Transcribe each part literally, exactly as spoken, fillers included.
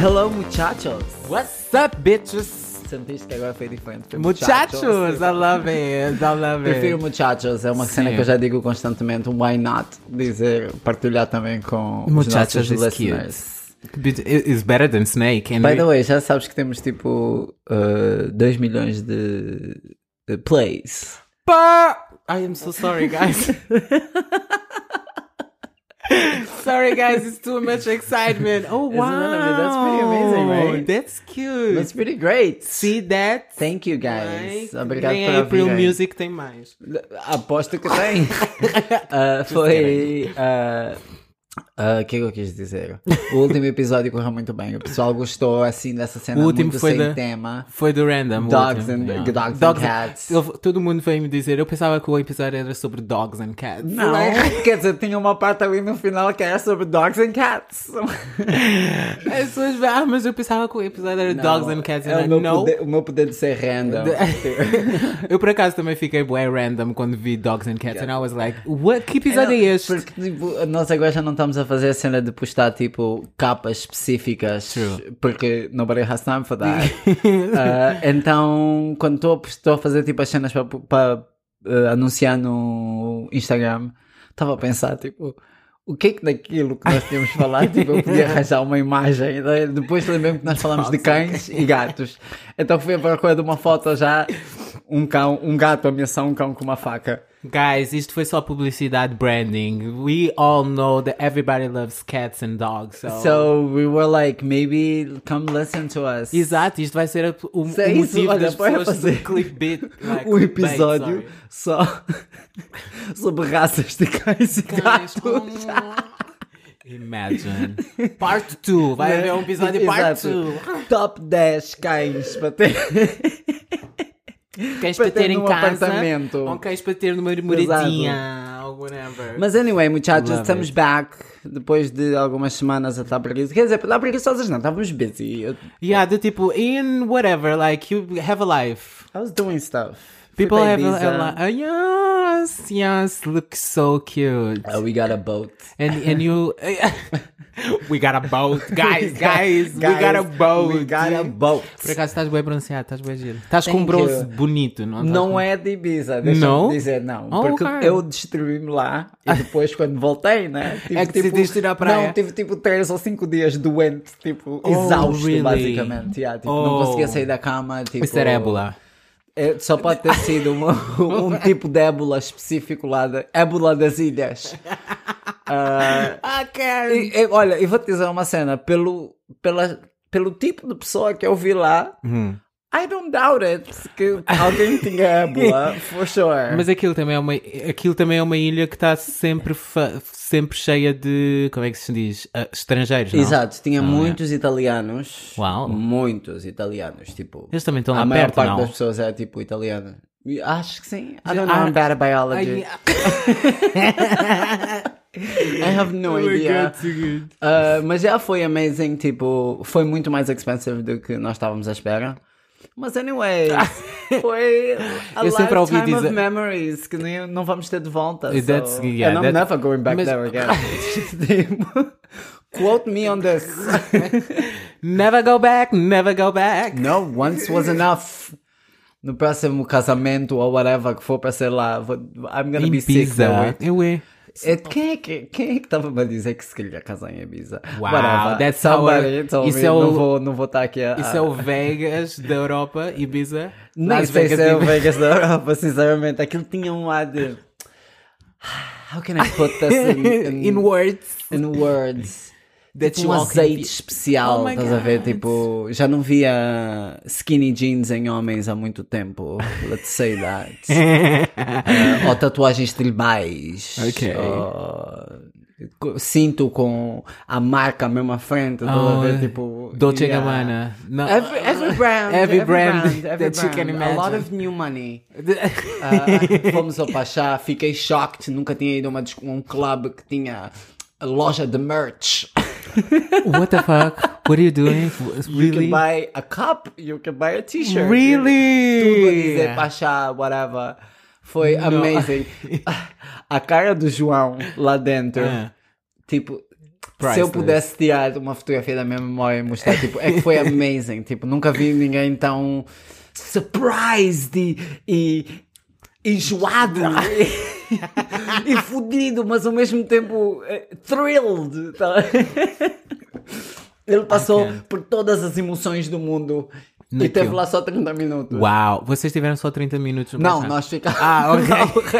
Hello, muchachos. What's up, bitches? Sentiste que agora foi diferente? Foi Muchachos, I love it, I love it. Prefiro muchachos, é uma Sim. cena que eu já digo constantemente. Why not? Dizer, partilhar também com Muchachos os is nossos cute. listeners. But it is better than Snake. And By we- the way, já sabes que temos tipo dois milhões de, de plays. Pa- I am so sorry, guys. Sorry, guys, it's too much excitement. Oh, Isn't wow. that- that's pretty amazing, right? That's cute. That's pretty great. See that? Thank you, guys. Like, Obrigado nem por a April ouvirem. Music tem mais. Aposto que tem. Uh, foi. O uh, que é que eu quis dizer? O último episódio correu muito bem. O pessoal gostou assim dessa cena O último muito foi sem da- tema. Foi do Random. o Dogs último, and- yeah. dogs and cats. eu- todo mundo veio me dizer, eu pensava que o episódio era sobre Dogs and Cats. Não, Like, quer dizer, tinha uma parte ali no final que era sobre dogs and cats. as pessoas veem, ah, mas eu pensava que o episódio era Dogs and Cats. É And o, I meu know. poder, o meu poder de ser random. Eu por acaso também fiquei bué random quando vi Dogs and Cats and I was like, what? Que episódio é este? Porque tipo, nós agora já não estamos a fazer a cena de postar tipo capas específicas. True. Porque nobody has time for that. Uh, então, quando estou- estou a fazer tipo as cenas para, para uh, anunciar no Instagram, estava a pensar tipo, o que é que daquilo que nós tínhamos falado, tipo, eu podia arranjar uma imagem. Daí Depois lembrei-me que nós falamos de cães e gatos. Então fui à procura de uma foto já, um cão, um gato a ameaçar um cão com uma faca. Guys, isto foi só publicidade, branding. We all know that everybody loves cats and dogs. So... So we were like, maybe come listen to us. Exato, isto vai ser a- o, o Isso é isso, motivo olha, das bora pessoas fazer do clickbait. Like, Um clickbait, episódio sorry. só sobre raças de cães e Guys, gatos. oh, Imagine. Part dois. Vai haver um episódio part Exato. dois. Top dez cães para ter. Cães Para para ter ter em num casa. apartamento. Ou cães para ter numa moradinha. Ou whatever. Mas anyway, muchachos, Love estamos it. back depois de algumas semanas a estar preguiçosos. Quer dizer, estar preguiçosos não, estávamos busy. Eu- Yeah, do tipo, in whatever, like, you have a life. I was doing stuff. Fui People para have Ibiza. a, a life. Yes, yes, look so cute. Uh, we got a boat. And and you, we got a boat, guys, guys, we got a boat. We got a boat. Por acaso estás bem bronzeado, estás bem giro. Estás com Thank um bronze you. bonito, não? Estás Não com- é de Ibiza, deixa-me Não? dizer, não. Oh, porque ok. eu destruí-me lá e depois, quando voltei, né? Tive, É que decidiste ir à praia? Não, tive tipo três ou cinco dias doente, tipo, Oh, exausto, really? basicamente. Yeah, tipo, Não Oh. conseguia sair da cama. Tipo, Isso era ébola. É, só pode ter sido um, um tipo de ébola específico lá, de, ébola das ilhas. Ah, Ah, Karen. e- e, olha, eu vou-te dizer uma cena, pelo, pela, pelo tipo de pessoa que eu vi lá, Uhum. I don't doubt it, que alguém tinha ébola, for sure. Mas aquilo também é uma, aquilo também é uma ilha que está sempre, fa- sempre cheia de, como é que se diz? Ah, estrangeiros, não? Exato, tinha Ah, muitos italianos. Uau. Muitos italianos, tipo. Eles também estão lá a maior perto, parte não? das pessoas é tipo italiana. E acho que sim. I don't know, Ah, I'm bad at biology. I have no Oh my idea. God, so good. Uh, mas já foi amazing, tipo, foi muito mais expensive do que nós estávamos à espera. Mas anyway, foi a Eu sempre ouvi lifetime dizer- of memories que nem, não vamos ter de volta. That's- so, yeah, and I'm that's- never going back mas- there again. Tipo, quote me on this. Never go back, never go back. No, once was enough. No próximo casamento ou whatever que for para ser lá, vou- I'm gonna be sick. Ibiza. though. Eu é. É, quem é que quem é que estava a dizer que se queria casar em Ibiza? Wow, Whatever. that's Somebody how- told isso me. é o- Não vou, não vou estar aqui a. Isso é o Vegas da Europa, Ibiza. Nem Las sei Vegas se é o de- Vegas da Europa, sinceramente. Aquilo tinha um ar de. How can I put this in, in, In words. in words? That Tipo you um all can azeite be- especial, Oh my estás a ver? God. Tipo, já não via skinny jeans em homens há muito tempo. Let's say that. Uh, ou tatuagens tribais. Ok. Ou cinto com a marca mesmo à frente. Estás a ver? Tipo, Dolce yeah. Gabbana. No. Every, every brand, Every every, brand brand, every that you brand. can A lot imagine. of new money. Ah, fomos ao Pachá, fiquei shocked, nunca tinha ido a uma, dis- um clube que tinha a loja de merch. What the fuck? What are you doing? You Really? can buy a cup, you can buy a t-shirt. Really? Tudo a dizer Pachá, whatever. Foi No. amazing. A cara do João lá dentro, Ah. tipo, se eu pudesse tirar uma fotografia da minha memória e mostrar, tipo, é que foi amazing. Tipo, nunca vi ninguém tão surprised e, e enjoado e, e fudido, mas ao mesmo tempo uh, thrilled. Tá? Ele passou okay. por todas as emoções do mundo. No e teve lá só trinta minutos. Uau, vocês tiveram só trinta minutos? Não, passar. Nós ficamos ah, ok. Não, o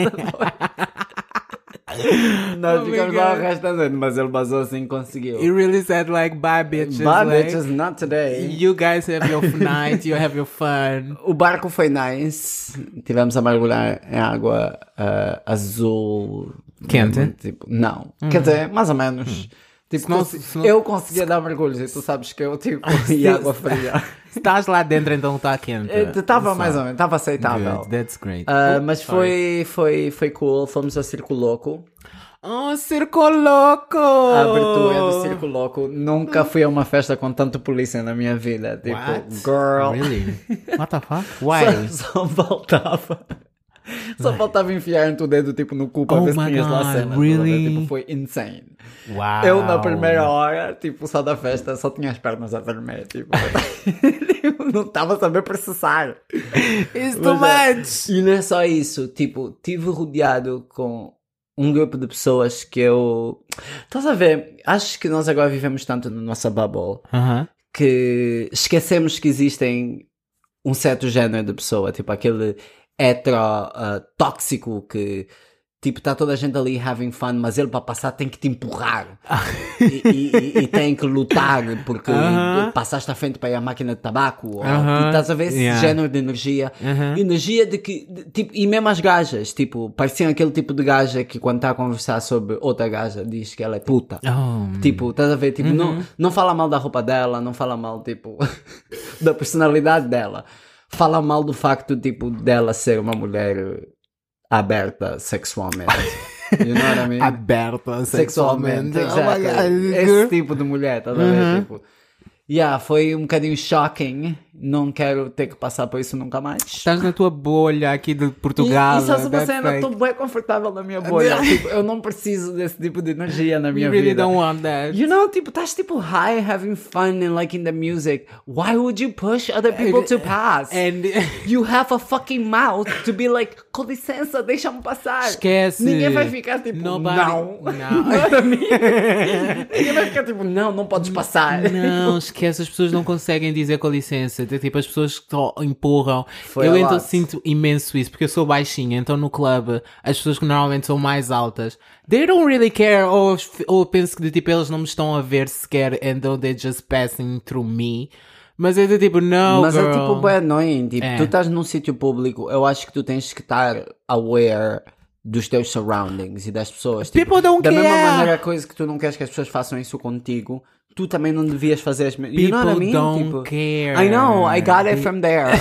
resto nós oh ficamos lá o resto da noite, mas ele basou assim e conseguiu. He really said like, bye bitches. Bye like, bitches, not today. You guys have your night, you have your fun. O barco foi nice. Tivemos a mergulhar em água uh, azul. Quente? Tipo, não. Hum. Quer dizer, mais ou menos. Hum. Tipo, senão, cons- senão... eu conseguia dar mergulhos e tu sabes que eu tipo e água fria. Estás lá dentro, então está quente. Estava mais ou menos, estava aceitável. Good, that's great. Uh, oh, mas foi, foi, foi cool. Fomos ao Circo Louco. Oh, Circo Louco! A abertura do Circo Louco. Nunca fui a uma festa com tanto polícia na minha vida. Tipo, What? girl. Really? What the fuck? Why? Só, só faltava. Só faltava enfiar o dedo tipo no cu para oh ver se tinhas lá a cena. Really? Tipo, foi insane. Wow. Eu na primeira hora, tipo, só da festa, só tinha as pernas a tremer. Tipo, não estava a saber processar. It's too much. E não é só isso. Tipo, tive rodeado com um grupo de pessoas que eu... Estás a ver? Acho que nós agora vivemos tanto na nossa bubble uh-huh. que esquecemos que existem um certo género de pessoa. Tipo, aquele... hetero uh, tóxico que tipo está toda a gente ali having fun, mas ele para passar tem que te empurrar e, e, e tem que lutar porque uh-huh. passaste à frente para ir à máquina de tabaco ou, uh-huh. e estás a ver esse yeah. género de energia uh-huh. energia de que de, tipo, e mesmo as gajas tipo, pareciam aquele tipo de gaja que quando está a conversar sobre outra gaja diz que ela é puta oh. tipo, estás a ver, tipo, uh-huh. não, não fala mal da roupa dela, não fala mal tipo da personalidade dela, fala mal do facto, tipo, dela ser uma mulher aberta sexualmente. You know what I mean? Aberta sexualmente. Sexualmente, exactly. Oh, esse tipo de mulher, tá a ver? Uh-huh. Tipo, yeah, foi um bocadinho shocking. Não quero ter que passar por isso nunca mais. Estás na tua bolha aqui de Portugal. E, e só se você ainda like... estou bem confortável na minha bolha. Tipo, eu não preciso desse tipo de energia na minha you really vida. Don't want that. You know, tipo, estás tipo high, having fun and like in the music. Why would you push other people to pass? And you have a fucking mouth to be like, com licença, deixa-me passar. Esquece. Ninguém vai ficar tipo, Nobody... não. Não. Ninguém vai ficar tipo, não, não podes passar. Não, esquece, as pessoas não conseguem dizer com licença. Tipo, as pessoas que empurram. Foi eu a então lot. sinto imenso isso, porque eu sou baixinha, então no clube as pessoas que normalmente são mais altas, they don't really care, ou, ou penso que de, tipo, eles não me estão a ver sequer, and though they're just passing through me. Mas é de tipo, não, Mas girl. é tipo bem annoying, tipo, É. tu estás num sítio público, eu acho que tu tens que estar aware dos teus surroundings e das pessoas. Tipo, People don't da care. mesma maneira, a coisa que tu não queres que as pessoas façam isso contigo, tu também não devias fazer as mesmas. You know what I mean? don't Tipo, care. I know, I got it from there.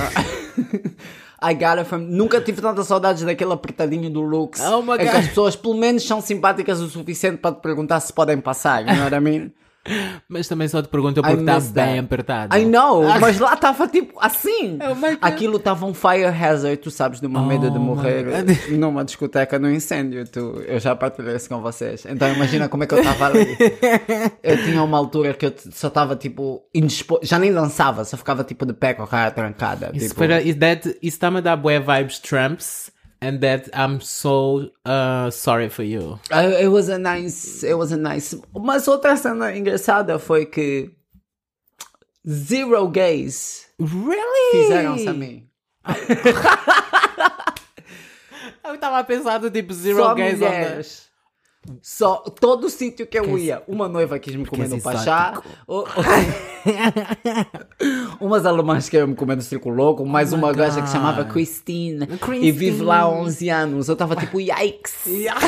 I got it from... Nunca tive tantas saudades daquele apertadinho do Lux. Oh my é que God. as pessoas pelo menos são simpáticas o suficiente para te perguntar se podem passar. You know what I mean? Mas também só te perguntam porque está bem apertado. I know, mas lá estava tipo assim. Oh my God. Aquilo estava um fire hazard, tu sabes, de uma Oh medo de my morrer God. numa discoteca no incêndio. Tu, eu já partilhei isso com vocês. Então imagina como é que eu estava ali. Eu tinha uma altura que eu só estava tipo indisposto, já nem dançava, só ficava tipo de pé com a cara trancada. Isso, tipo... para, is that, isso está-me a dar bué vibes Trumps. And that I'm so uh, sorry for you. Uh, it was a nice, it was a nice. Mas outra cena engraçada foi que zero gays Really? fizeram-se a mim. Eu estava a pensar do tipo zero Só gays on the... mulheres. Só, todo o sítio que eu Que ia, uma noiva quis me comer és no Pachá, exótico. o- o- umas alemãs queriam me comer no Circo Louco, mais Oh my uma gaja que God. se chamava Christine, Christine. e vive lá há onze anos. Eu estava tipo, yikes!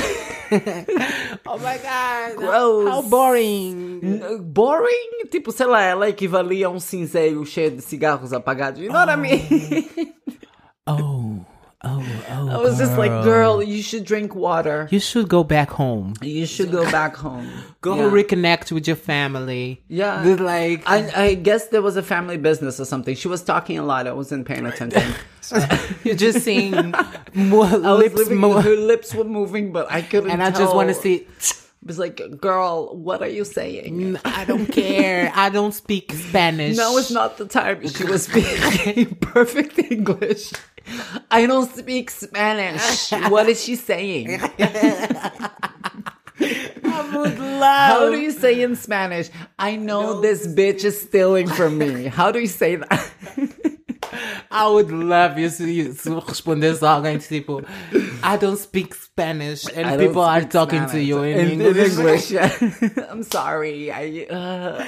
Oh my God. Gross. How boring. N- Boring? Tipo, sei lá, ela equivalia a um cinzeiro cheio de cigarros apagados. You know what I mean? Oh, oh, oh. I was just like, girl, you should drink water. You should go back home. You should go back home. Go Yeah. reconnect with your family. Yeah. With like... I, I guess there was a family business or something. She was talking a lot. I wasn't paying attention. You're just seeing more I was lips living, more. her lips were moving, but I couldn't And I tell. just want to see... was like, girl, what are you saying? I don't care. I don't speak Spanish. No, it's not the time. She was speaking perfect English. I don't speak Spanish. What is she saying? I would love. How do you say in Spanish? I know No, this bitch is stealing from me. How do you say that? I would love you se, se respondesse a alguém tipo, I don't speak Spanish and I don't people are speak talking to Spanish. you in, in English. In English. I'm sorry. I, uh...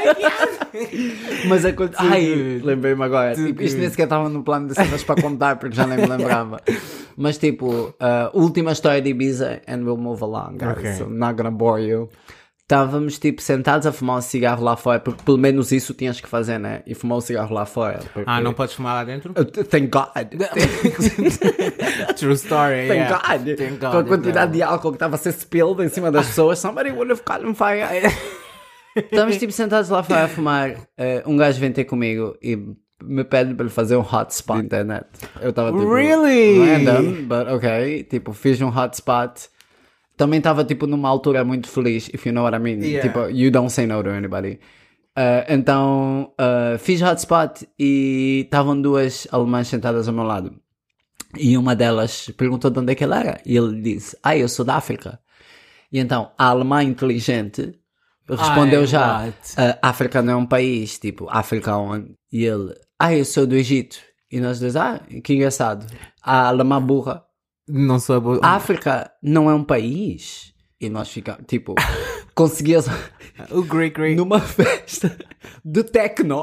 Mas aconteceu. Ai, lembrei-me agora. Tipo, isto nem sequer estava no plano de cenas para contar porque já nem me lembrava. Mas tipo, uh, última história de Ibiza and we'll move along, guys. Okay. So I'm not gonna bore you. Estávamos tipo sentados a fumar um cigarro lá fora, porque pelo menos isso tinhas que fazer, né? E fumar um cigarro lá fora. Porque... Ah, não podes fumar lá dentro? Uh, Thank God. True story. Thank yeah. God. Thank God. Com a quantidade Não. de álcool que estava a ser spilled em cima das pessoas, somebody would have caught on fire. Estávamos tipo sentados lá fora a fumar. Uh, um gajo vem ter comigo e me pede para lhe fazer um hotspot na internet. Eu estava tipo... Really? Random, but ok. Tipo, fiz um hotspot. Também estava tipo numa altura muito feliz, if you know what I mean. Yeah. Tipo, you don't say no to anybody. Uh, então, uh, fiz hotspot e estavam duas alemãs sentadas ao meu lado. E uma delas perguntou de onde é que ela era. E ele disse, ah, eu sou da África. E então, a alemã inteligente respondeu Ai, já, what? uh, África não é um país, tipo, África onde? E ele, ah, eu sou do Egito. E nós dois, ah, que engraçado. A alemã burra. Não sou boa. A África não é um país. E nós ficamos, tipo, conseguias O Greek Greek. numa festa de techno.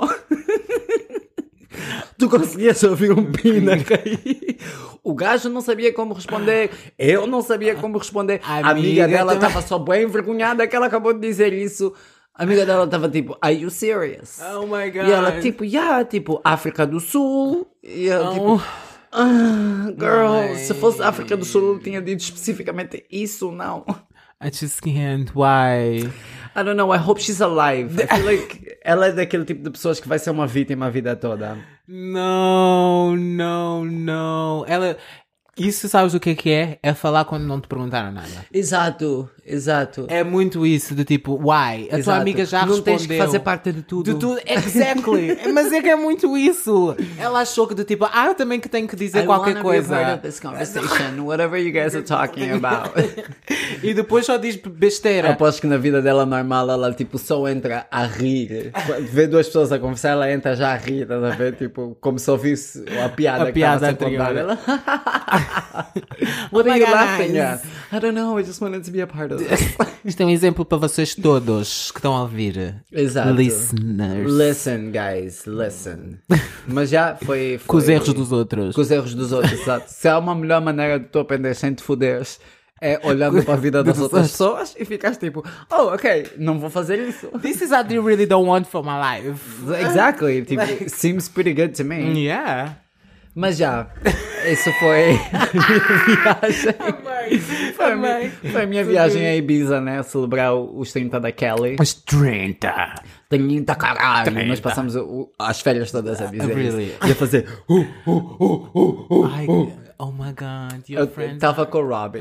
Tu conseguias ouvir um pino a cair. O gajo não sabia como responder. Eu não sabia como responder. A amiga, Amiga dela também. estava só bem envergonhada que ela acabou de dizer isso. A amiga dela estava tipo, are you serious? Oh my God. E ela tipo, yeah, tipo, África do Sul. E ela Oh. tipo... Ah, girl, Ai. se fosse África do Sul, eu tinha dito especificamente isso, não. I just can't. Why? I don't know, I hope she's alive. I feel like ela é daquele tipo de pessoas que vai ser uma vítima a vida toda. No, no, no. Ela... Isso sabes o que é que é? É falar quando não te perguntaram nada. Exato, exato. É muito isso, de tipo, why? A tua Exato. amiga já não respondeu. Tens que fazer parte de tudo. De tudo, exactly. Mas é que é muito isso. Ela achou que do tipo, ah, eu também que tenho que dizer I qualquer wanna be a part coisa. of this conversation, whatever you guys are talking about. E depois só diz besteira. Aposto que na vida dela normal ela tipo só entra a rir. Vê duas pessoas a conversar, ela entra já a rir, estás a ver? Tipo, como se ouvisse a piada A que piada estava a ser contada. anterior. Ela... What Oh are my you God, laughing guys. at? I don't know, I just wanted to be a part of this. Isto é um exemplo para vocês todos que estão a ouvir. Exato. Listeners. Listen, guys, listen. Mas já foi... foi... Com os erros dos outros. Com os erros dos outros, exato. Se há uma melhor maneira de tu aprender sem te foderes, é olhando para a vida das outras pessoas e ficas tipo, oh, ok, não vou fazer isso. This is what I really don't want for my life. Exactly, tipo, seems pretty good to me. Yeah. Mas já, isso foi a minha viagem. Foi a minha, foi a minha viagem a Ibiza, né? Celebrar os trinta da Kelly. Os trinta. trinta, caralho. trinta. Nós passamos o- as férias todas a dizer Really? isso. E a fazer... Uh, uh, uh, uh, uh, Ai, uh. oh my God, your Eu friends. tava com o Robbie.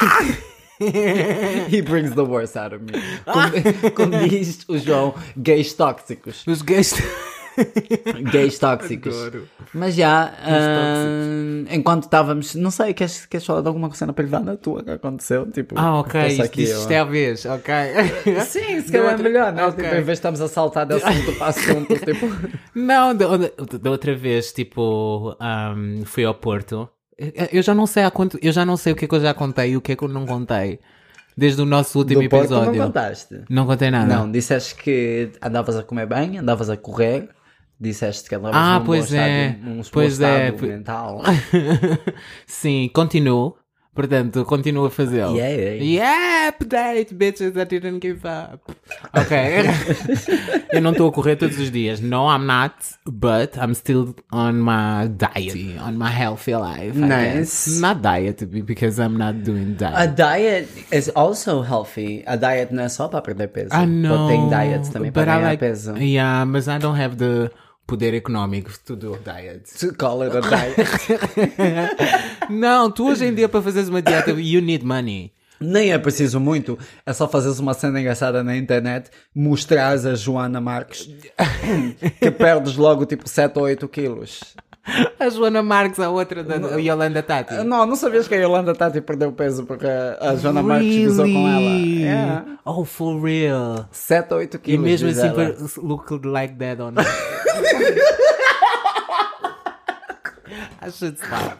He brings the worst out of me. Como, como diz o João, gays tóxicos. Os gays. Gays tóxicos. Adoro. Mas já, hum, enquanto estávamos, não sei, queres, queres falar de alguma cena privada tua que aconteceu? Tipo, Ah, ok. passa Isto, aqui, isto, eu- isto é a vez, ok. Sim, se calhar é melhor, não? Ok. Tipo, em vez de estarmos a saltar de assunto para assunto, tipo... Não, da, da- da outra vez, tipo, ahm, fui ao Porto. Eu- Eu já não sei há quanto, eu já não sei o que é que eu já contei e o que é que eu não contei. Desde o nosso último Do Porto episódio. não contaste? Não contei nada. Não, disseste que andavas a comer bem, andavas a correr, disseste que andavas Ah, num pois bom é. estado, num Pois bom é. estado mental. Sim, continuo. Portanto, continuo a fazê-lo. Yeah. Yeah, update, bitches, I didn't give up. Ok. Eu não estou a correr todos os dias. No, I'm not. But I'm still on my diet. On my healthy life. I Nice. guess. Not diet, because I'm not doing A diet. diet is also healthy. A diet não é só para perder peso. I know. Tem diets também para but I ganhar like, peso. Yeah, but I don't have the poder económico to do diet. To call it a diet. Não, tu hoje em dia para fazeres uma dieta, you need money. Nem é preciso muito, é só fazeres uma cena engraçada na internet, mostrares a Joana Marques, que perdes logo tipo sete ou oito quilos. A Joana Marques, a outra da não, Yolanda Tati. Não, não sabias que a Yolanda Tati perdeu peso porque a Joana really? Marques gozou com ela. Yeah. Oh, for real? sete ou oito quilos. E mesmo assim, ela. Look like that on it. I should stop.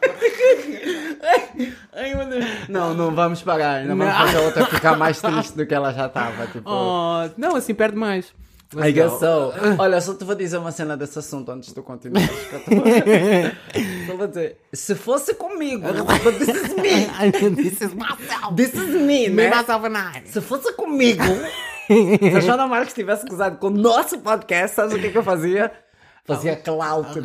Ai, meu Deus. Não, não vamos parar. Não vamos fazer a outra ficar mais triste do que ela já estava. Tipo... Oh, não, assim perde mais. Let's I guess so. Olha, só te vou dizer uma cena desse assunto antes de tu continuares. Só vou dizer, se fosse comigo, this is me. This is myself. This is me, me né? myself and I. Se fosse comigo, se a Joana Marques tivesse gozado com o nosso podcast, sabes o que, que eu fazia? Fazia clout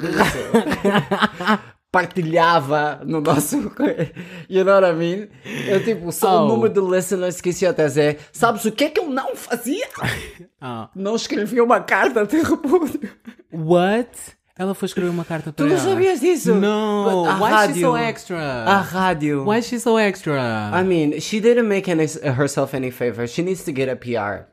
disso. Partilhava no nosso... You know what I mean? Eu tipo, só oh. o número de listeners que isso até dizer. Sabes o que é que eu não fazia? Oh. Não escrevia uma carta de repúdio. What? Ela foi escrever uma carta para tu ela? Tu não sabias disso? No. Why rádio, is she so extra? A rádio. Why is she so extra? I mean, she didn't make any, herself any favor. She needs to get a P R.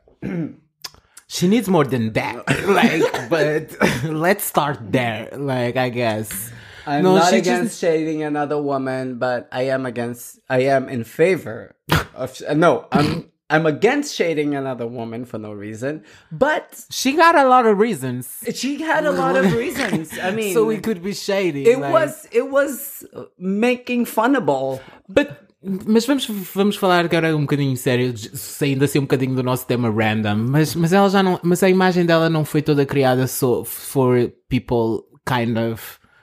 She needs more than that. Like, but let's start there. Like, I guess. I'm no, not against just... shading another woman, but I am against. I am in favor of. No, I'm. I'm against shading another woman for no reason. But she got a lot of reasons. She had a lot of reasons. I mean, so we could be shady. It like... was. It was making funnable. But. Mas vamos, vamos falar agora um bocadinho sério, saindo assim um bocadinho do nosso tema random. Mas, mas ela já não. Mas a imagem dela não foi toda criada so for people kind of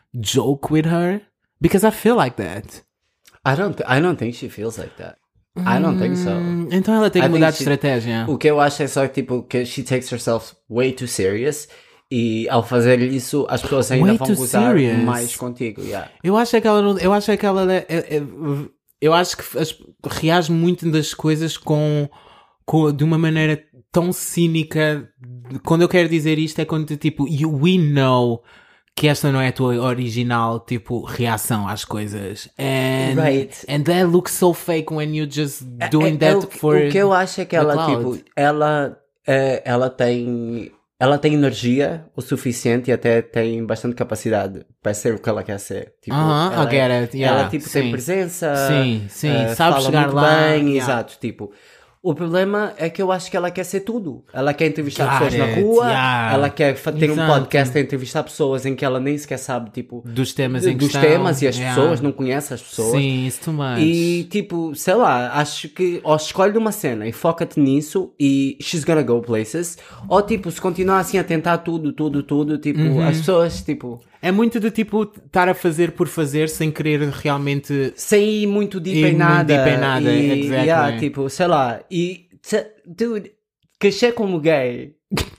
joke with her, because I feel like that. I don't. Th- I don't think she feels like that. I don't think so. Então ela tem que I mudar de she, estratégia. O que eu acho é só tipo que she takes herself way too serious. E ao fazer isso, as pessoas ainda way vão gozar mais contigo. Yeah. Eu acho que ela não. Eu acho que ela. É, é, é, eu acho que as, reage muito das coisas com, com de uma maneira tão cínica. Quando eu quero dizer isto é quando tipo you, we know que esta não é a tua original tipo reação às coisas. And, right. And that looks so fake when you just doing é, é, that é, for o que eu acho é que ela tipo ela é, ela tem ela tem energia o suficiente e até tem bastante capacidade para ser o que ela quer ser. Tipo, uh-huh, ela, I get it. Yeah, ela tipo sim. tem presença, sim, sim. Uh, sabe fala chegar muito lá. bem, Yeah. exato, tipo. O problema é que eu acho que ela quer ser tudo. Ela quer entrevistar Got pessoas it, na rua, yeah. ela quer ter Exato. um podcast a entrevistar pessoas em que ela nem sequer sabe, tipo... Dos temas de, em Dos questão. temas e as Yeah. pessoas, não conhece as pessoas. Sim, isso too much. E, tipo, sei lá, acho que ou escolhe uma cena e foca-te nisso e she's gonna go places. Ou, tipo, se continuar assim a tentar tudo, tudo, tudo, tipo, uhum. as pessoas, tipo... É muito de tipo estar a fazer por fazer sem querer realmente... Sem ir muito deep ir em nada. Muito deep em nada, e, exactly. Yeah, tipo, sei lá, e... Dude, crescer como gay,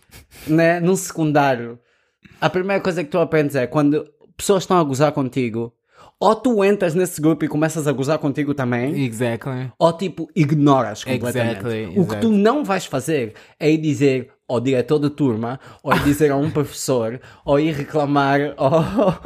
né, num secundário, a primeira coisa que tu aprendes é quando pessoas estão a gozar contigo, ou tu entras nesse grupo e começas a gozar contigo também, exactly. ou tipo, ignoras completamente. Exactly, o que exactly. tu não vais fazer é ir dizer ao diretor de turma, ou ir dizer a um professor, ou ir reclamar ao...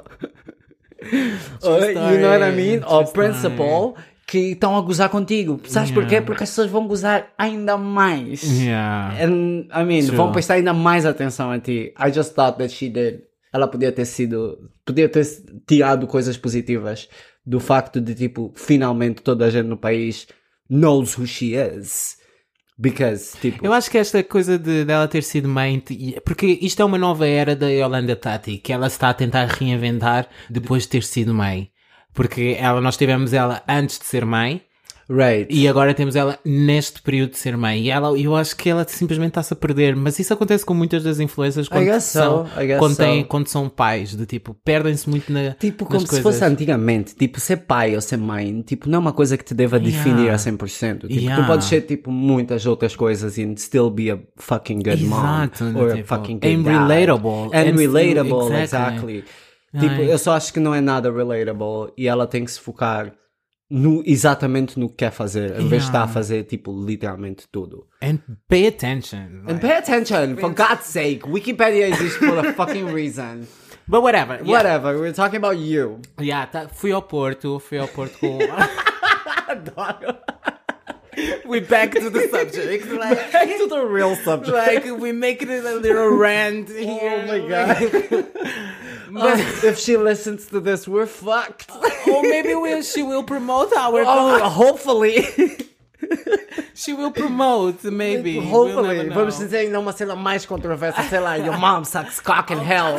ou, you know what I mean? Ao principal... que estão a gozar contigo. Sabes yeah. porquê? Porque as pessoas vão gozar ainda mais. Yeah. And, I mean, True. vão prestar ainda mais atenção a ti. I just thought that she did. Ela podia ter sido... Podia ter tirado coisas positivas do facto de, tipo, finalmente toda a gente no país knows who she is. Because, tipo... Eu acho que esta coisa de dela ter sido mãe... Porque isto é uma nova era da Yolanda Tati, que ela está a tentar reinventar depois de ter sido mãe. Porque ela, nós tivemos ela antes de ser mãe. Right. E agora temos ela neste período de ser mãe. E ela, eu acho que ela simplesmente está-se a perder. Mas isso acontece com muitas das influências quando, são, so. quando, têm, so. quando são pais. De tipo, perdem-se muito na Tipo, como nas se coisas. fosse antigamente. Tipo, ser pai ou ser mãe, tipo, não é uma coisa que te deva definir yeah. a cem por cento. Tipo, yeah. tu podes ser, tipo, muitas outras coisas and still be a fucking good Exato, mom. Or tipo, a fucking good and dad. relatable. And, And relatable, still, exactly. exactly. Tipo, Ai. eu só acho que não é nada relatable e ela tem que se focar no, exatamente no que quer fazer, em vez Yeah. de estar a fazer, tipo, literalmente tudo. And pay attention. And pay attention, for God's sake. Wikipedia exists for a fucking reason. But whatever. Yeah. Whatever, we're talking about you. Yeah, tá, fui ao Porto, fui ao Porto com... Adoro. We back to the subject. Like, Back to the real subject. like we make it a little rant here. Oh my god. But if she listens to this, we're fucked. Or maybe we'll, she will promote our Oh, hopefully. She will promote, maybe. Hopefully. We'll never know. Vamos dizer ainda uma cena mais controversa, sei lá, your mom sucks cock in hell.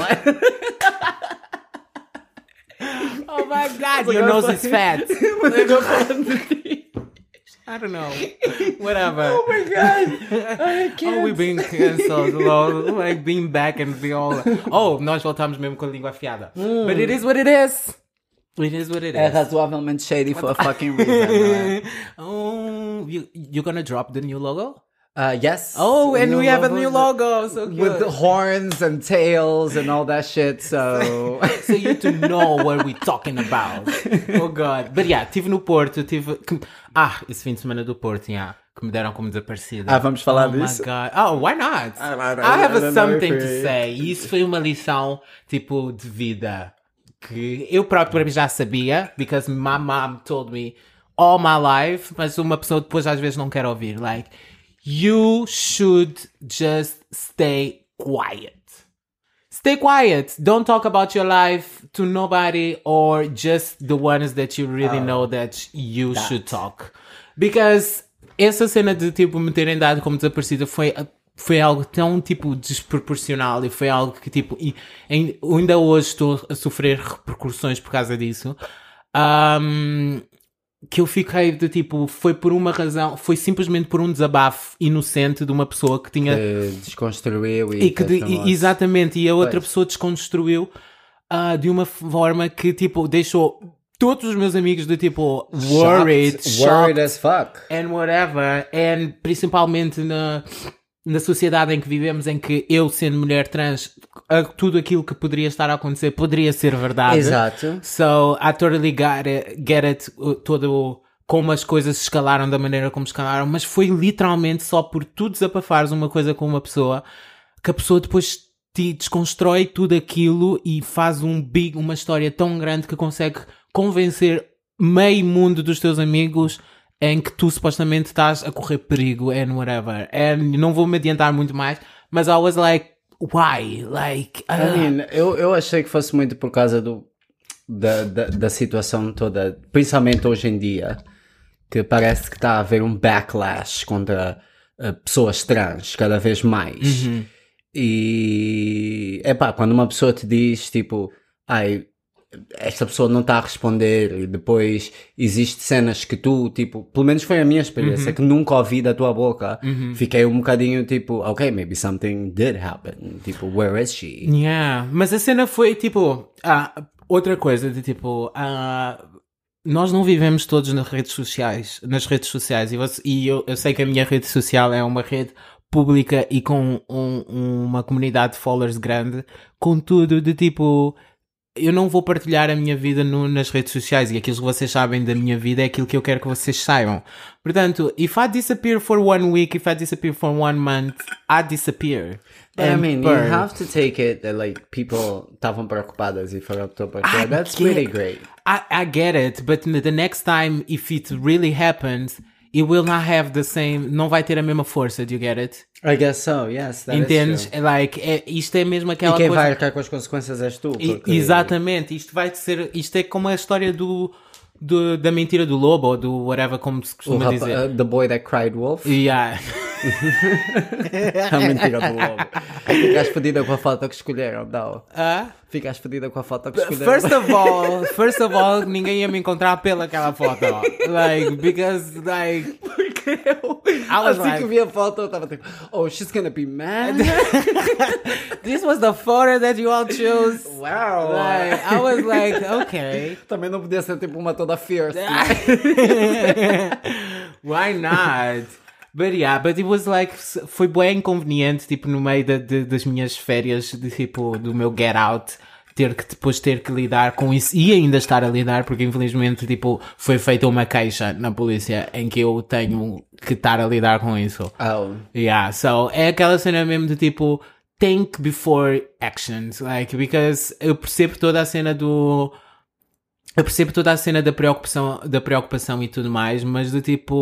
Oh my god, your nose is fat. I don't know. Whatever. Oh my god. I can't. Oh, we've been cancelled. lol. Like being back and be all. Oh, nós voltamos mesmo com a língua afiada. Mm. But it is what it is. It is what it É is. razoavelmente shady for a fucking reason, não é? Oh, you you gonna drop the new logo? Uh, yes. Oh, and New we have a logo new logo. So cute. with the horns and tails and all that shit. So, So you to know what we're talking about. Oh god. But yeah, estive no Porto, tive. Ah, esse fim de semana do Porto, yeah. Que me deram como desaparecida. Ah, vamos falar oh disso? My god. Oh, why not? I don't know. I have I don't know something if to we- say. E isso foi uma lição, tipo, de vida. Que eu próprio para mim já sabia, because my mom told me all my life, mas uma pessoa depois às vezes não quer ouvir. Like, you should just stay quiet. Stay quiet. Don't talk about your life to nobody or just the ones that you really know that you that. should talk. Because essa cena de tipo me terem dado como desaparecida foi, foi algo tão tipo desproporcional e foi algo que tipo e, em- ainda hoje estou a sofrer repercussões por causa disso. Um, que eu fiquei de tipo, foi por uma razão, foi simplesmente por um desabafo inocente de uma pessoa que tinha que desconstruiu e, e que de- fez e- famoso. exatamente, e a outra Pois. pessoa desconstruiu ah, de uma forma que tipo deixou todos os meus amigos de tipo worried, Shocked, worried shocked as fuck. and whatever, and principalmente na, na sociedade em que vivemos, em que eu sendo mulher trans, a- tudo aquilo que poderia estar a acontecer poderia ser verdade. Exato. So I totally got it, get it, uh, todo o- como as coisas escalaram da maneira como escalaram, mas foi literalmente só por tu desabafares uma coisa com uma pessoa que a pessoa depois te desconstrói tudo aquilo e faz um big, uma história tão grande que consegue convencer meio mundo dos teus amigos em que tu supostamente estás a correr perigo and whatever. And não vou me adiantar muito mais, mas I was like, why? Like, I uh, mean, eu, eu achei que fosse muito por causa do, da, da, da situação toda, principalmente hoje em dia, que parece que está a haver um backlash contra uh, pessoas trans, cada vez mais. E, epá, quando uma pessoa te diz, tipo, ai, esta pessoa não está a responder, e depois existe cenas que tu, tipo, pelo menos foi a minha experiência, que nunca ouvi da tua boca, fiquei um bocadinho tipo, ok, maybe something did happen, tipo, where is she? Yeah, mas a cena foi tipo, ah, outra coisa de tipo, ah, nós não vivemos todos nas redes sociais, nas redes sociais, e, você- e eu, eu sei que a minha rede social é uma rede pública e com um- uma comunidade de followers grande, contudo de tipo, eu não vou partilhar a minha vida no- nas redes sociais, e aquilo que vocês sabem da minha vida é aquilo que eu quero que vocês saibam. Portanto, if I disappear for one week, if I disappear for one month, I disappear. I And mean, you burn. have to take it that, like, people estavam preocupadas e foram para I partilhar. That's get- really great. I, I get it, but the next time, if it really happens, it will not have the same, não vai ter a mesma força, do you get it? I guess so, yes, that Entendes? is true. Like, é, isto é mesmo E aquela quem coisa... vai arcar com as consequências és tu. E- porque- Exatamente, isto vai ser, isto é como a história do, do- da mentira do lobo, ou do whatever, como se O costuma rapa- dizer. uh, the boy that cried wolf. Yeah. A mentira do lobo. Ficaste fodida com a foto que escolheram, não. Ah? Ficaste fodida com a foto que escolheram. First of all, first of all, ninguém ia me encontrar pelaquela foto. Like, because, like, I was assim like, que vi a foto, eu estava tipo, oh, she's gonna be mad. this was the photo that you all chose. Wow. Like, I was like, okay. Também não podia ser tipo uma toda fierce. Why not? But yeah, but it was like, foi bem inconveniente, tipo, no meio da- de- das minhas férias, de, tipo, do meu get out, ter que depois ter que lidar com isso e ainda estar a lidar, porque infelizmente, tipo, foi feita uma queixa na polícia em que eu tenho que estar a lidar com isso. Oh. Yeah, so é aquela cena mesmo de tipo, think before actions, like, because eu percebo toda a cena do, eu percebo toda a cena da preocupação, da preocupação e tudo mais, mas do tipo,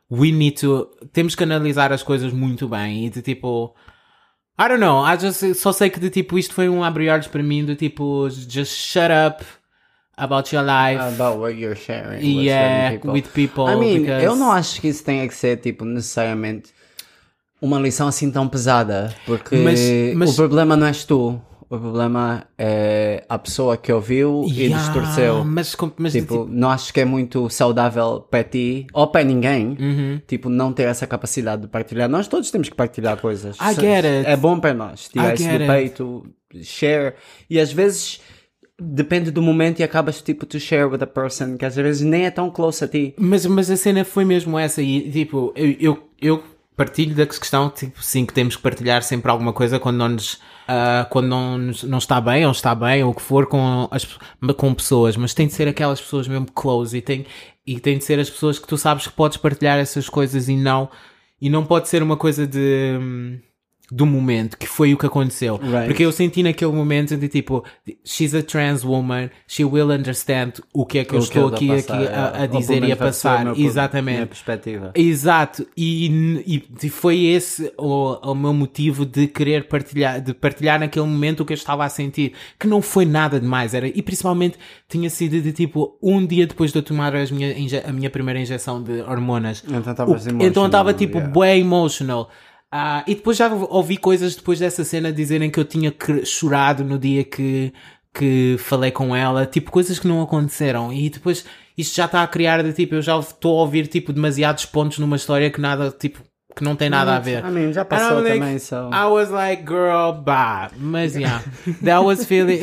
we need to, temos que analisar as coisas muito bem e de tipo, I don't know, I just, só sei que de tipo, isto foi um abre-olhos para mim, do tipo, just shut up about your life. About what you're sharing Yeah, with people. with people. I mean, because... eu não acho que isso tenha que ser, tipo, necessariamente uma lição assim tão pesada, porque Mas- mas- o problema não és tu, o problema é a pessoa que ouviu e Yeah, distorceu. Mas, com- mas de Tipo, tipo, não acho que é muito saudável para ti ou para ninguém, Uhum. tipo, não ter essa capacidade de partilhar. Nós todos temos que partilhar coisas. I get it. É bom para nós, tirar I isso get do it. peito, share. E às vezes depende do momento e acabas tipo to share with a person que às vezes nem é tão close a ti. Mas, mas a cena foi mesmo essa e tipo, eu, eu, eu partilho da questão, tipo, sim, que temos que partilhar sempre alguma coisa quando não nos, ah, quando não, nos- não está bem ou está bem ou o que for com, as, com pessoas, mas tem de ser aquelas pessoas mesmo close e tem, e tem de ser as pessoas que tu sabes que podes partilhar essas coisas e não, e não pode ser uma coisa de... hum, do momento, que foi o que aconteceu. Right. Porque eu senti naquele momento de tipo, she's a trans woman, she will understand o que é que eu O que estou eu aqui, tô a aqui passar, a, a é. Ou dizer pelo e a menos vai ser passar. o meu- Exatamente. minha perspectiva. Exato, e, e, e foi esse o, o meu motivo de querer partilhar, de partilhar naquele momento o que eu estava a sentir, que não foi nada demais, era, e principalmente tinha sido de tipo, um dia depois de eu tomar as minha, inje- a minha primeira injeção de hormonas. Então estavas O- emotional, então eu estava tipo, yeah. bué emotional. Ah, e depois já ouvi coisas depois dessa cena dizerem que eu tinha cre- chorado no dia que, que falei com ela, tipo coisas que não aconteceram, e depois isto já está a criar de tipo, eu já estou a ouvir tipo demasiados pontos numa história que nada, tipo, que não tem nada a ver. I mean, já And passou I'm like, também, so... I was like, girl, bah. Mas, yeah, that was feeling...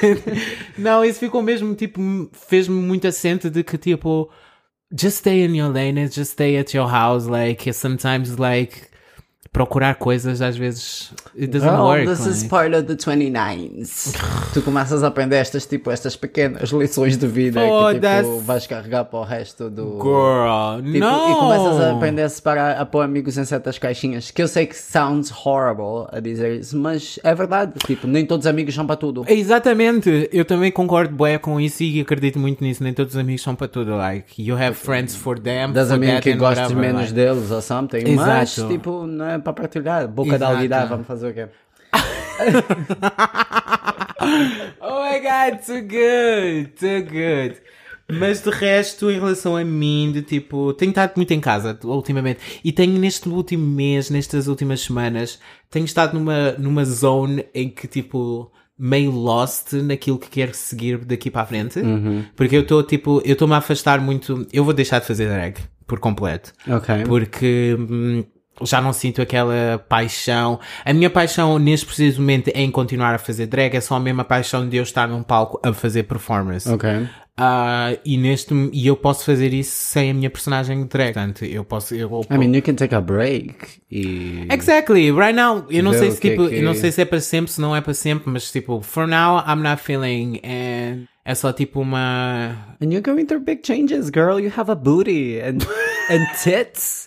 Não, isso ficou mesmo, tipo, fez-me muito acento de que, tipo, just stay in your lane, just stay at your house, like, sometimes, like, procurar coisas, às vezes, it doesn't Well, work. this like. is part of the twenty-nines. Tu começas a aprender estas, tipo, estas pequenas lições de vida Oh, que, tipo, that's- vais carregar para o resto do... Girl, Tipo, no! E começas a aprender a separar, a pôr amigos em certas caixinhas, que eu sei que sounds horrible a dizer isso, mas é verdade, tipo, nem todos os amigos são para tudo. Exatamente, eu também concordo bué com isso e acredito muito nisso, nem todos os amigos são para tudo, like, you have friends for them, Das for amigos that que and gostes whatever, menos like. deles ou something, mas, Exato. tipo, não é para partilhar, boca Exato. de alguidade, vamos fazer o quê? Oh my god, too good, too good. Mas de resto, em relação a mim, de tipo, tenho estado muito em casa ultimamente e tenho neste último mês, nestas últimas semanas, tenho estado numa, numa zone em que tipo, meio lost naquilo que quero seguir daqui para a frente. Porque eu estou tipo, eu estou-me a afastar muito, eu vou deixar de fazer drag por completo. Ok. Porque hum, já não sinto aquela paixão. A minha paixão neste preciso momento é em continuar a fazer drag, é só a mesma paixão de eu estar num palco a fazer performance. Ok. Ah, e neste e eu posso fazer isso sem a minha personagem de drag. Portanto, eu posso. Eu, I mean, you can take a break e... Exactly, right now, eu não Ver sei o se que é tipo, que- eu não sei se é para sempre, se não é para sempre, mas tipo, for now I'm not feeling, and é só tipo uma. And you're going through big changes, girl. You have a booty and and tits.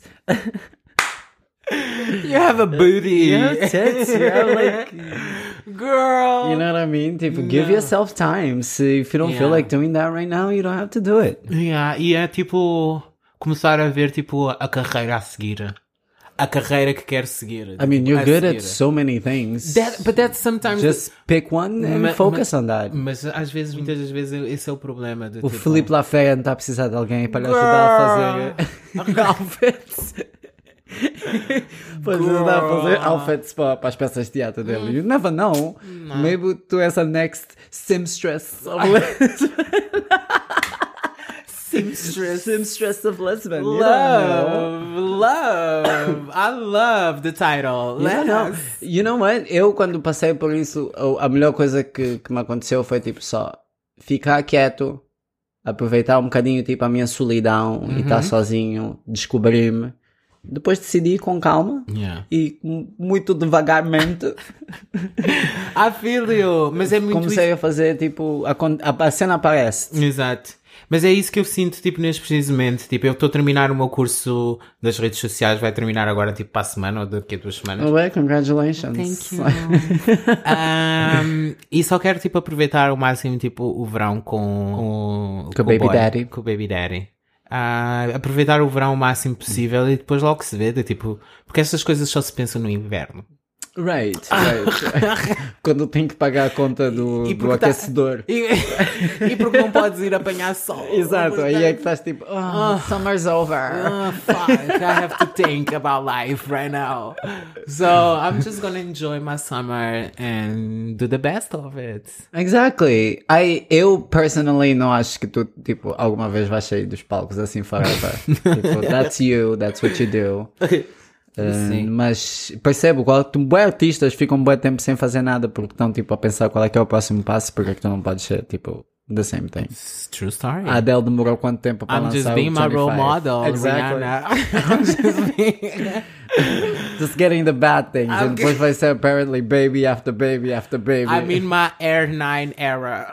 You have a booty. You have tits. You have like, Girl. you know what I mean? Tipo, give No. yourself time. So if you don't feel Yeah. like doing that right now, you don't have to do it. Yeah, e é tipo começar a ver tipo a carreira a seguir. A carreira que quero seguir. I mean, tipo, you're a good seguir. at so many things. That, but that's sometimes Just pick one and Ma- focus ma- on that. Mas às vezes, muitas das vezes, esse é o problema. De, O tipo, Felipe Lafayette está a precisar de alguém para lhe ajudar a fazer outfits. Para lhe ajudar a fazer outfits para, para as peças de teatro dele. You never know. Maybe tu és a next Simstress of Lisbon. Seamstress. Simstress of Lisbon. You don't know. Love, love. I love the title. You don't know. Let's- You know what? Eu, quando passei por isso, a a melhor coisa que, que me aconteceu foi tipo só ficar quieto, aproveitar um bocadinho tipo a minha solidão e estar sozinho, descobrir-me. Depois decidi com calma Yeah. e m- muito devagarmente I feel you. Mas é muito comecei a fazer tipo a, con- a, a cena aparece. isso. Exato. Mas é isso que eu sinto, tipo, neste precisamente. Tipo, eu estou a terminar o meu curso das redes sociais, vai terminar agora, tipo, para a semana ou daqui a duas semanas. Oh, well, congratulations. Thank you. Um, e só quero, tipo, aproveitar ao máximo, tipo, o verão com, com, Com o Baby boy, Daddy. Com o Baby Daddy. Ah, aproveitar o verão o máximo possível e depois logo se vê, de, tipo, porque estas coisas só se pensam no inverno. Right, right. Quando tem que pagar a conta do, E do porque tá- aquecedor. E, e porque não podes ir apanhar sol. Exato, Porque- aí é que estás tipo, oh, summer's over. Ah, fuck, I have to think about life right now. So I'm just gonna enjoy my summer and do the best of it. Exactly. I, eu, personally, não acho que tu, tipo, alguma vez vais sair dos palcos assim forever. Tipo, that's you, that's what you do. Uh, Sim. mas percebo, qual, tu, bué artistas ficam um bom tempo sem fazer nada porque estão tipo a pensar qual é que é o próximo passo, porque é que tu não podes ser tipo the same thing. It's true story. A Adele demorou quanto tempo para I'm lançar just being o my role vinte e cinco? model, Exactly. Rihanna. I'm just being... Just getting the bad things. I'm And depois vai ser apparently baby after baby after baby. I'm in my Air nine era.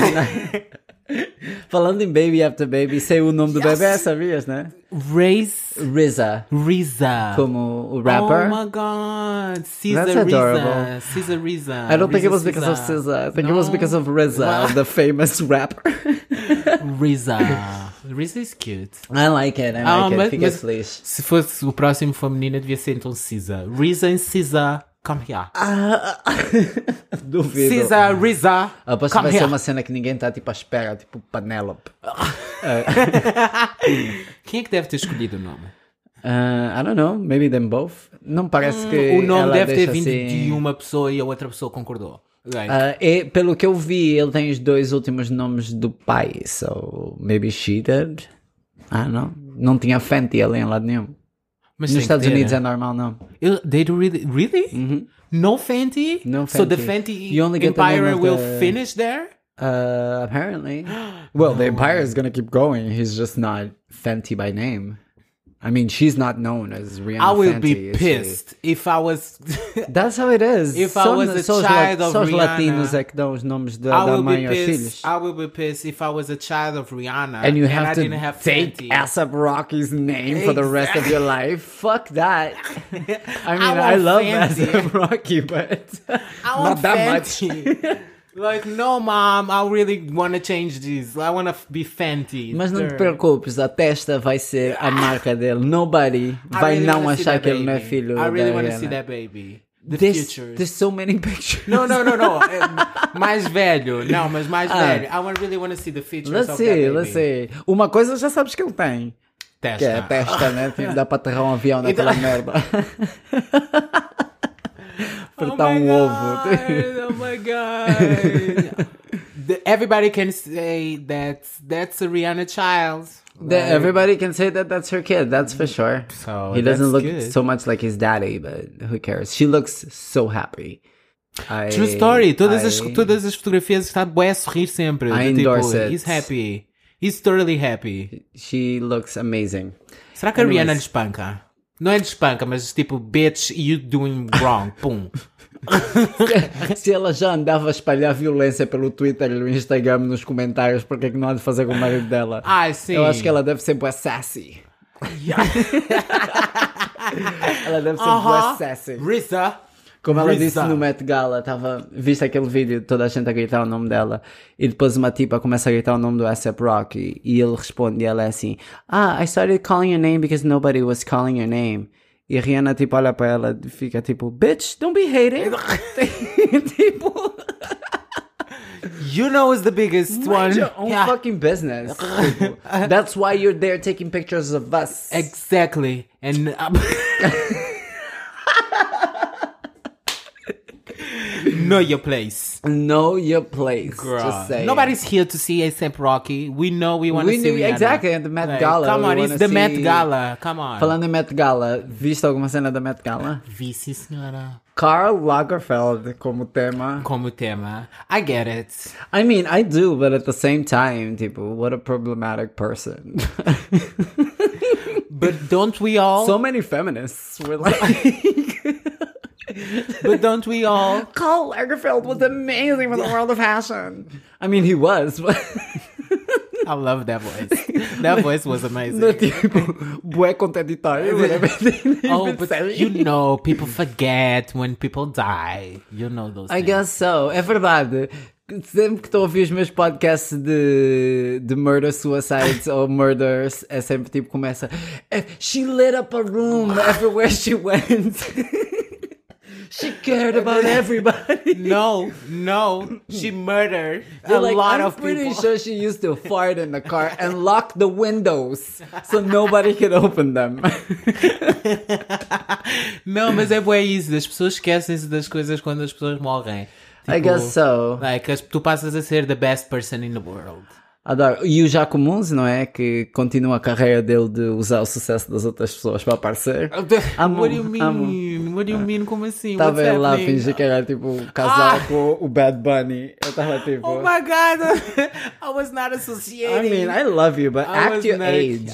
Falando em baby after baby, sei o nome do Yes. bebê, sabias, né? Race R Z A, Riza. como o rapper. Oh my god. That's Caesar adorable. Riza. Caesar Riza. I don't think it Riza was because of Caesar. S Z A. I think it was No. because of R Z A, the famous rapper. Riza. Riza is cute. I like it, I like Ah, it. mas- Fica mas- feliz. Se fosse o próximo for menina, devia ser então Caesar. Riza and Caesar, come here. Ah, duvido. Caesar, Riza, Aposto que come vai ser here. uma cena que ninguém está tipo à espera, tipo Penélope. Quem é que deve ter escolhido o nome? Uh, I don't know, maybe them both. Não parece que O nome ela deve ter deixa vindo assim... de uma pessoa e a outra pessoa concordou. Like, Uh, e, pelo que eu vi, ele tem os dois últimos nomes do pai, so maybe she did. I don't know. Não tinha Fenty ali em lado nenhum. mas Nos tem Estados que ter, Unidos né? é normal, não. Eu- They do really, really? No Fenty? No So the Fenty. Fenty You only get the name empire of will the- finish there? Uh, apparently. Well, the empire is gonna keep going. He's just not Fenty by name. I mean, she's not known as Rihanna I will Fenty, be is she? pissed if I was... That's how it is. If I Só- was a só os child la- of só os Rihanna, latinos é que dão os nomes da, I da will mãe be aos pissed. filhos. I will be pissed if I was a child of Rihanna And you have I to didn't have take Fenty. ASAP Rocky's name for the rest of your life. Fuck that. I mean, I I, want love Fenty. ASAP Rocky, but I not want that Fenty. Like, no, mom, I really want to change this. I want to be Fenty. Mas não te Sure. preocupes, a testa vai ser a marca dele. Nobody I vai really não wanna see achar that que ele não é baby. filho I really da want to see Rihanna. that baby. The There's, futures. there's so many pictures. No, no, no, no. É, mais velho. Não, mas mais Ah. velho. I want, really want to see the features Let's of see, that baby. let's see. Uma coisa já sabes que ele tem. Testa. Que é a testa, né? Tipo, dá para aterrar um avião naquela merda. Apertar um ovo. Oh my god. The- everybody can say that that's a Rihanna child. The- everybody can say that that's her kid, that's for sure. So He doesn't that's look good. so much like his daddy, but who cares? She looks so happy. I, True story. Todas, I, as, todas as fotografias está bué a sorrir sempre. I Do endorse tipo, it. He's happy. He's totally happy. She looks amazing. Será que a Anyways. Rihanna lhe espanca? Não é lhe espanca, mas tipo, bitch, you doing wrong. Pum. Se ela já andava a espalhar violência pelo Twitter e no Instagram nos comentários, porque é que não há de fazer com o marido dela? Ai, sim. Eu acho que ela deve ser bué sassy. Ela deve ser bué Uh-huh. sassy. Risa. Como ela Risa. disse no Met Gala, tava, viste aquele vídeo, toda a gente a gritar o nome dela, e depois uma tipa começa a gritar o nome do A$ap Rocky, e ele responde, e ela é assim, ah, I started calling your name because nobody was calling your name. E a Rihanna, tipo, olha para ela e fica tipo, bitch, don't be hating. Tipo, You know is the biggest one. mind your own Yeah. fucking business. Tipo, that's why you're there taking pictures of us. Exactly. And um, know your place. Know your place. Girl. Just say. Nobody's here to see A$ap Rocky. We know we want to We see knew- Rihanna. exactly, at the Met Like, Gala, Come we on, it's wanna the Met see- Gala. Come on. Falando em Met Gala, viste alguma cena da Met Gala? Vi, sim, senhora. Karl Lagerfeld como tema. Como tema. I get it. I mean, I do, but at the same time, tipo, what a problematic person. But don't we all? So many feminists were like, but don't we all? Karl Lagerfeld was amazing for the world of fashion. I mean, he was, but I love that voice. That voice was amazing. no, tipo, bué contraditório. with everything he's Oh, been but saying. you know, people forget when people die. You know those I things. guess so. É verdade. Sempre que estou a ouvir os meus podcasts de, de murder suicides ou murders, é sempre tipo, começa She lit up a room everywhere she went. She cared about everybody. No, no, she murdered They're a like, lot I'm of pretty people. sure she used to fart in the car and lock the windows so nobody could open them. Não, mas é bué isso. As pessoas esquecem-se das coisas quando as pessoas morrem. I guess so. Like, as- tu passas a ser the best person in the world. Adoro. E o Jaco Munz, não é? Que continua a carreira dele de usar o sucesso das outras pessoas para aparecer. Amo, What do you mean? amo. What do you mean? Como assim? Estava What's ele lá a happening? fingir que era tipo casal Ah! com o Bad Bunny. Eu estava tipo. Oh my god, I was not I associating. mean, I love you, but I act was your not- age.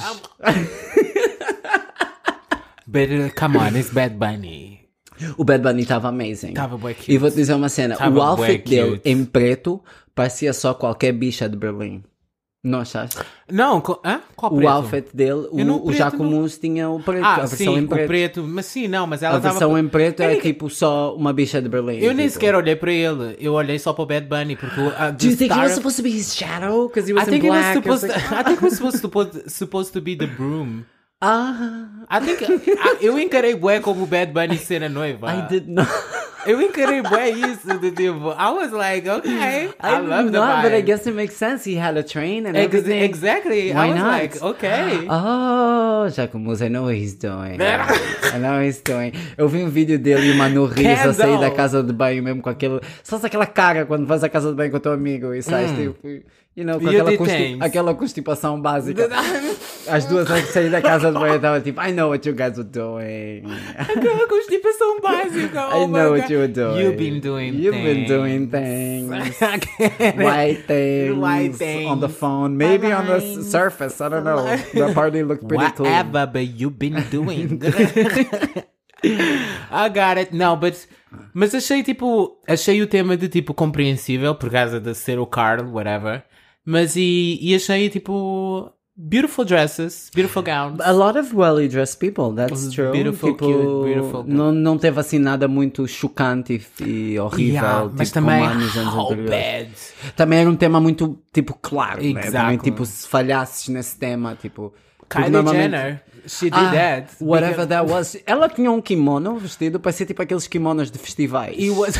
But uh, come on, it's Bad Bunny. O Bad Bunny estava amazing. Tava bué cute. E vou-te dizer uma cena. Tava o outfit bué dele cute. em preto parecia só qualquer bicha de Berlim. Não achaste? Não, co- hã? Qual O preto? outfit dele, Eu não- o, o preto Jaco não- Munz tinha o preto, Ah, a versão sim, em o preto. preto. Mas sim, não, mas A ela versão tava... em preto é Eu nem- tipo só uma bicha de Berlim. Eu nem tipo. sequer olhei para ele. Eu olhei só para o Bad Bunny, porque o... a- Do the you think he star- was supposed to be his shadow? Because he was I think in it was black. supposed It's to, like- I think it was supposed to, put- supposed to be the broom. Ah, I think... I- eu encarei bué como o Bad Bunny ser a noiva. I did not. Eu encarei bué isso, de tipo... I was like, okay, I, I, love did the not, vibe. but I guess it makes sense. He had a train and Ex- everything. exactly. Why I was not? like, okay. Oh, Jaco Munz, I know what he's doing. I know what he's doing. Eu vi um vídeo dele e o Manu Rios a sair da Kendall. casa de banho mesmo com aquele... Só aquela cara quando vais à casa de banho com o teu amigo e sais tipo... You know, com E aquela, eu consti- detens. aquela constipação básica. As duas antes de sair da casa de banho eu estava tipo, I know what you guys were doing. Aquela constipação básica. I Oh my know what God. you were doing. You've been doing You've things. been doing things. White things. White things. On the phone. Maybe on the Lines. s- surface. I don't know. The party looked pretty clean. Whatever, but you've been doing. I got it. Não, but... Mas achei, tipo... Achei o tema de, tipo, compreensível, por causa de ser o Carl, whatever. Mas e, e achei, tipo... Beautiful dresses, beautiful gowns. A lot of well dressed people, that's true. Beautiful, tipo, cute, beautiful. Não, não teve assim nada muito chocante e, e horrível. Yeah, tipo, mas também, como há nos anos how anteriores. bad. Também era um tema muito, tipo, claro. Né? Também, Exactly. tipo, se falhasses nesse tema, tipo... porque Kylie normalmente- Jenner, she did Ah, that. whatever because- that was. Ela tinha um kimono vestido, parecia tipo aqueles kimonos de festivais. It was...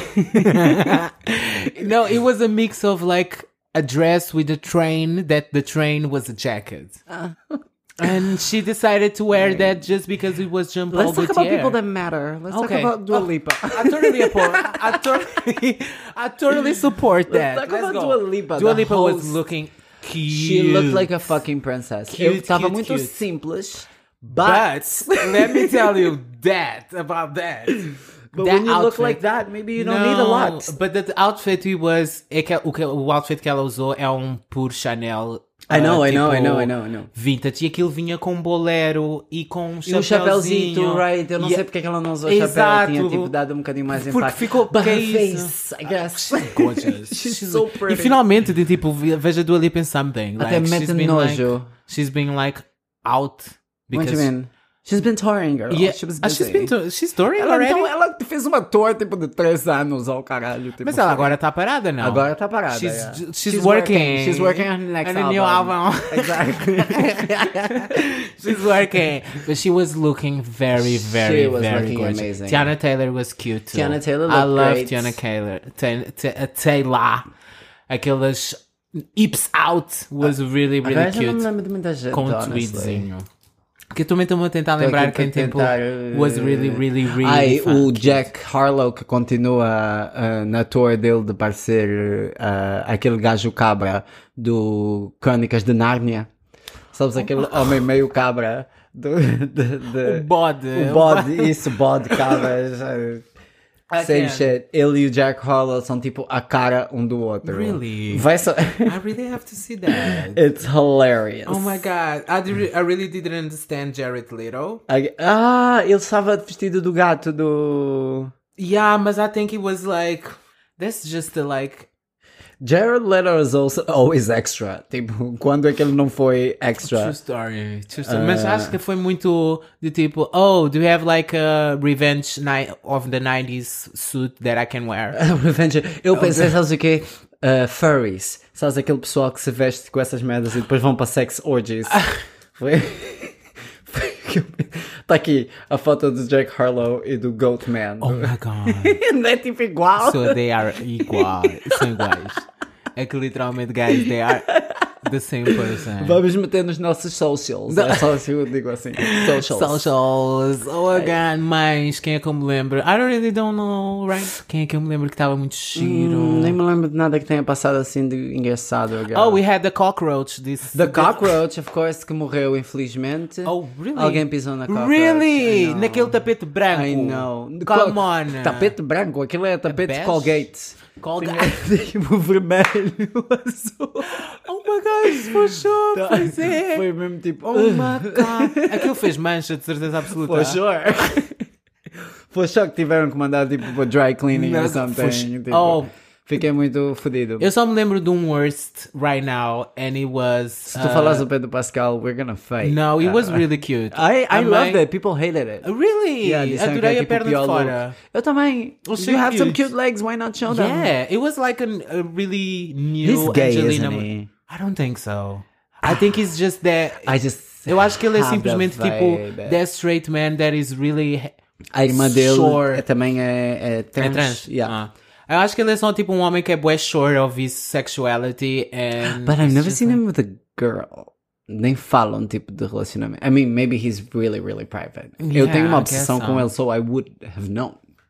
no, it was a mix of like a dress with a train that the train was a jacket. And she decided to wear that just because it was Jean Paul Let's talk about Gaultier. people that matter. Let's Okay. talk about Dua Oh, Lipa. I totally support. I totally, I totally support that. talk about go. Dua Lipa, Dua the Lipa was host. looking cute. She looked like a fucking princess. Cute, Eu estava cute, muito cute. simples, but, But let me tell you that about that. but that when you look outfit- like that, maybe you don't need a lot. But the outfit it was é que, o, que, o outfit que ela usou é um puro Chanel. I know, uh, I know, tipo, I know, I know, I know. Vintage. E aquilo vinha com um bolero e com um E o chapéuzinho, chapéuzinho. right? Eu não E- sei porque é que ela não usou Exato. chapéu. Tinha tipo dado um bocadinho mais Porque impacto. ficou- But que her é isso? face, I guess. Gorgeous. She's so pretty. E finalmente, de, tipo, veja a Dua Lipa in something. Até Like, mete she's been like, nojo. she's been like out What because do you mean? She's been touring, girl. Yeah, She was ah, busy. she's been to, she's touring Ela, already. então, ela fez uma tour tipo de três anos ao caralho. Tipo, Mas ela agora está parada, não? Agora tá parada. She's, yeah. she's, working. She's working on the next on a album. new album. Exactly. She's working. But she was looking very, very, She was very looking gorgeous. amazing. Tiana Taylor was cute too. Tiana Taylor I looked love great. Tiana Taylor. Ta- ta- uh, Taylor. Aquelas hips out was really, really Agora já não me cute. lembro de muita gente, Com um honestly. tweedzinho. Que eu também estou a tentar Tô lembrar aqui quem para tempo tentar, uh, was really, really, really Ai, fun. o Jack Harlow que continua uh, na tour dele de parecer uh, aquele gajo cabra do Crónicas de Nárnia. Sabes, aquele homem meio cabra do, de, de- O bode. o bode, isso, bode cabra. já- I Same can't. shit. Ele e o Jack Harlow são tipo a cara um do outro. Really? Vai só... I really have to see that. It's hilarious. Oh my god, I, did, I really didn't understand Jared Leto. I- Ah, ele estava vestido do gato do... Yeah, but I think it was like, that's just a, like, Jared Leto is also always extra. Tipo, quando é que ele não foi extra? True story, true story. Mas acho que foi muito de tipo, oh, do you have like a revenge night of the nineties suit that I can wear? Revenge. Eu pensei, sabes o quê? Uh, furries. Sabes aquele pessoal que se veste com essas merdas e depois vão para sex orgies? Foi... Tá aqui a foto do Jack Harlow e do Goat Man. Oh my god. Não é tipo igual? So they are igual. São iguais. É que literalmente, guys, they are the same person. Vamos meter nos nossos socials. É só assim, eu digo assim. Socials. Socials. Oh, again, mas quem é que eu me lembro? I don't really don't know, right? Quem é que eu me lembro que estava muito giro? Hum, nem me lembro de nada que tenha passado assim de engraçado. Agora. Oh, we had the cockroach. This, The cockroach, of course, que morreu infelizmente. Oh, really? Alguém pisou na cockroach. Really? Naquele tapete branco. I know. Come Co- on. Tapete branco, aquilo é tapete bege? Colgate. Colgate. Tipo vermelho, azul. Oh my gosh, for sure. Pois é. Foi mesmo tipo. Oh my god. Aquilo fez mancha, de certeza absoluta. For sure. For sure que tiveram que mandar tipo para dry cleaning Não, or something. for sure. Tipo, Oh. Fiquei muito fodido. Eu só me lembro de um worst right now, and it was... Se tu falas do Pedro Pascal, we're gonna fight. No, it was Uh, really cute. I, I A loved mãe- it. People hated it. Really? Yeah, disseram que Adorei é a tipo perna o de pior fora. look. Eu também. Achei You have some cute. cute legs, why not show them? Yeah, it was like an, a really new He's gay, Angelina. isn't he? I don't think so. I think he's just that... I just Eu acho que ele é have simplesmente the tipo vibe. that straight man that is really A irmã dele sure. é- também é, é trans. É trans. Yeah. Ah. Eu acho que ele é só tipo um homem que é bué sure of his sexuality and... But I've it's never just seen like- him with a girl. Nem falam tipo de relacionamento. I mean, maybe he's really, really private. Eu Yeah, tenho uma I guess obsessão so. com ele, so I would have known.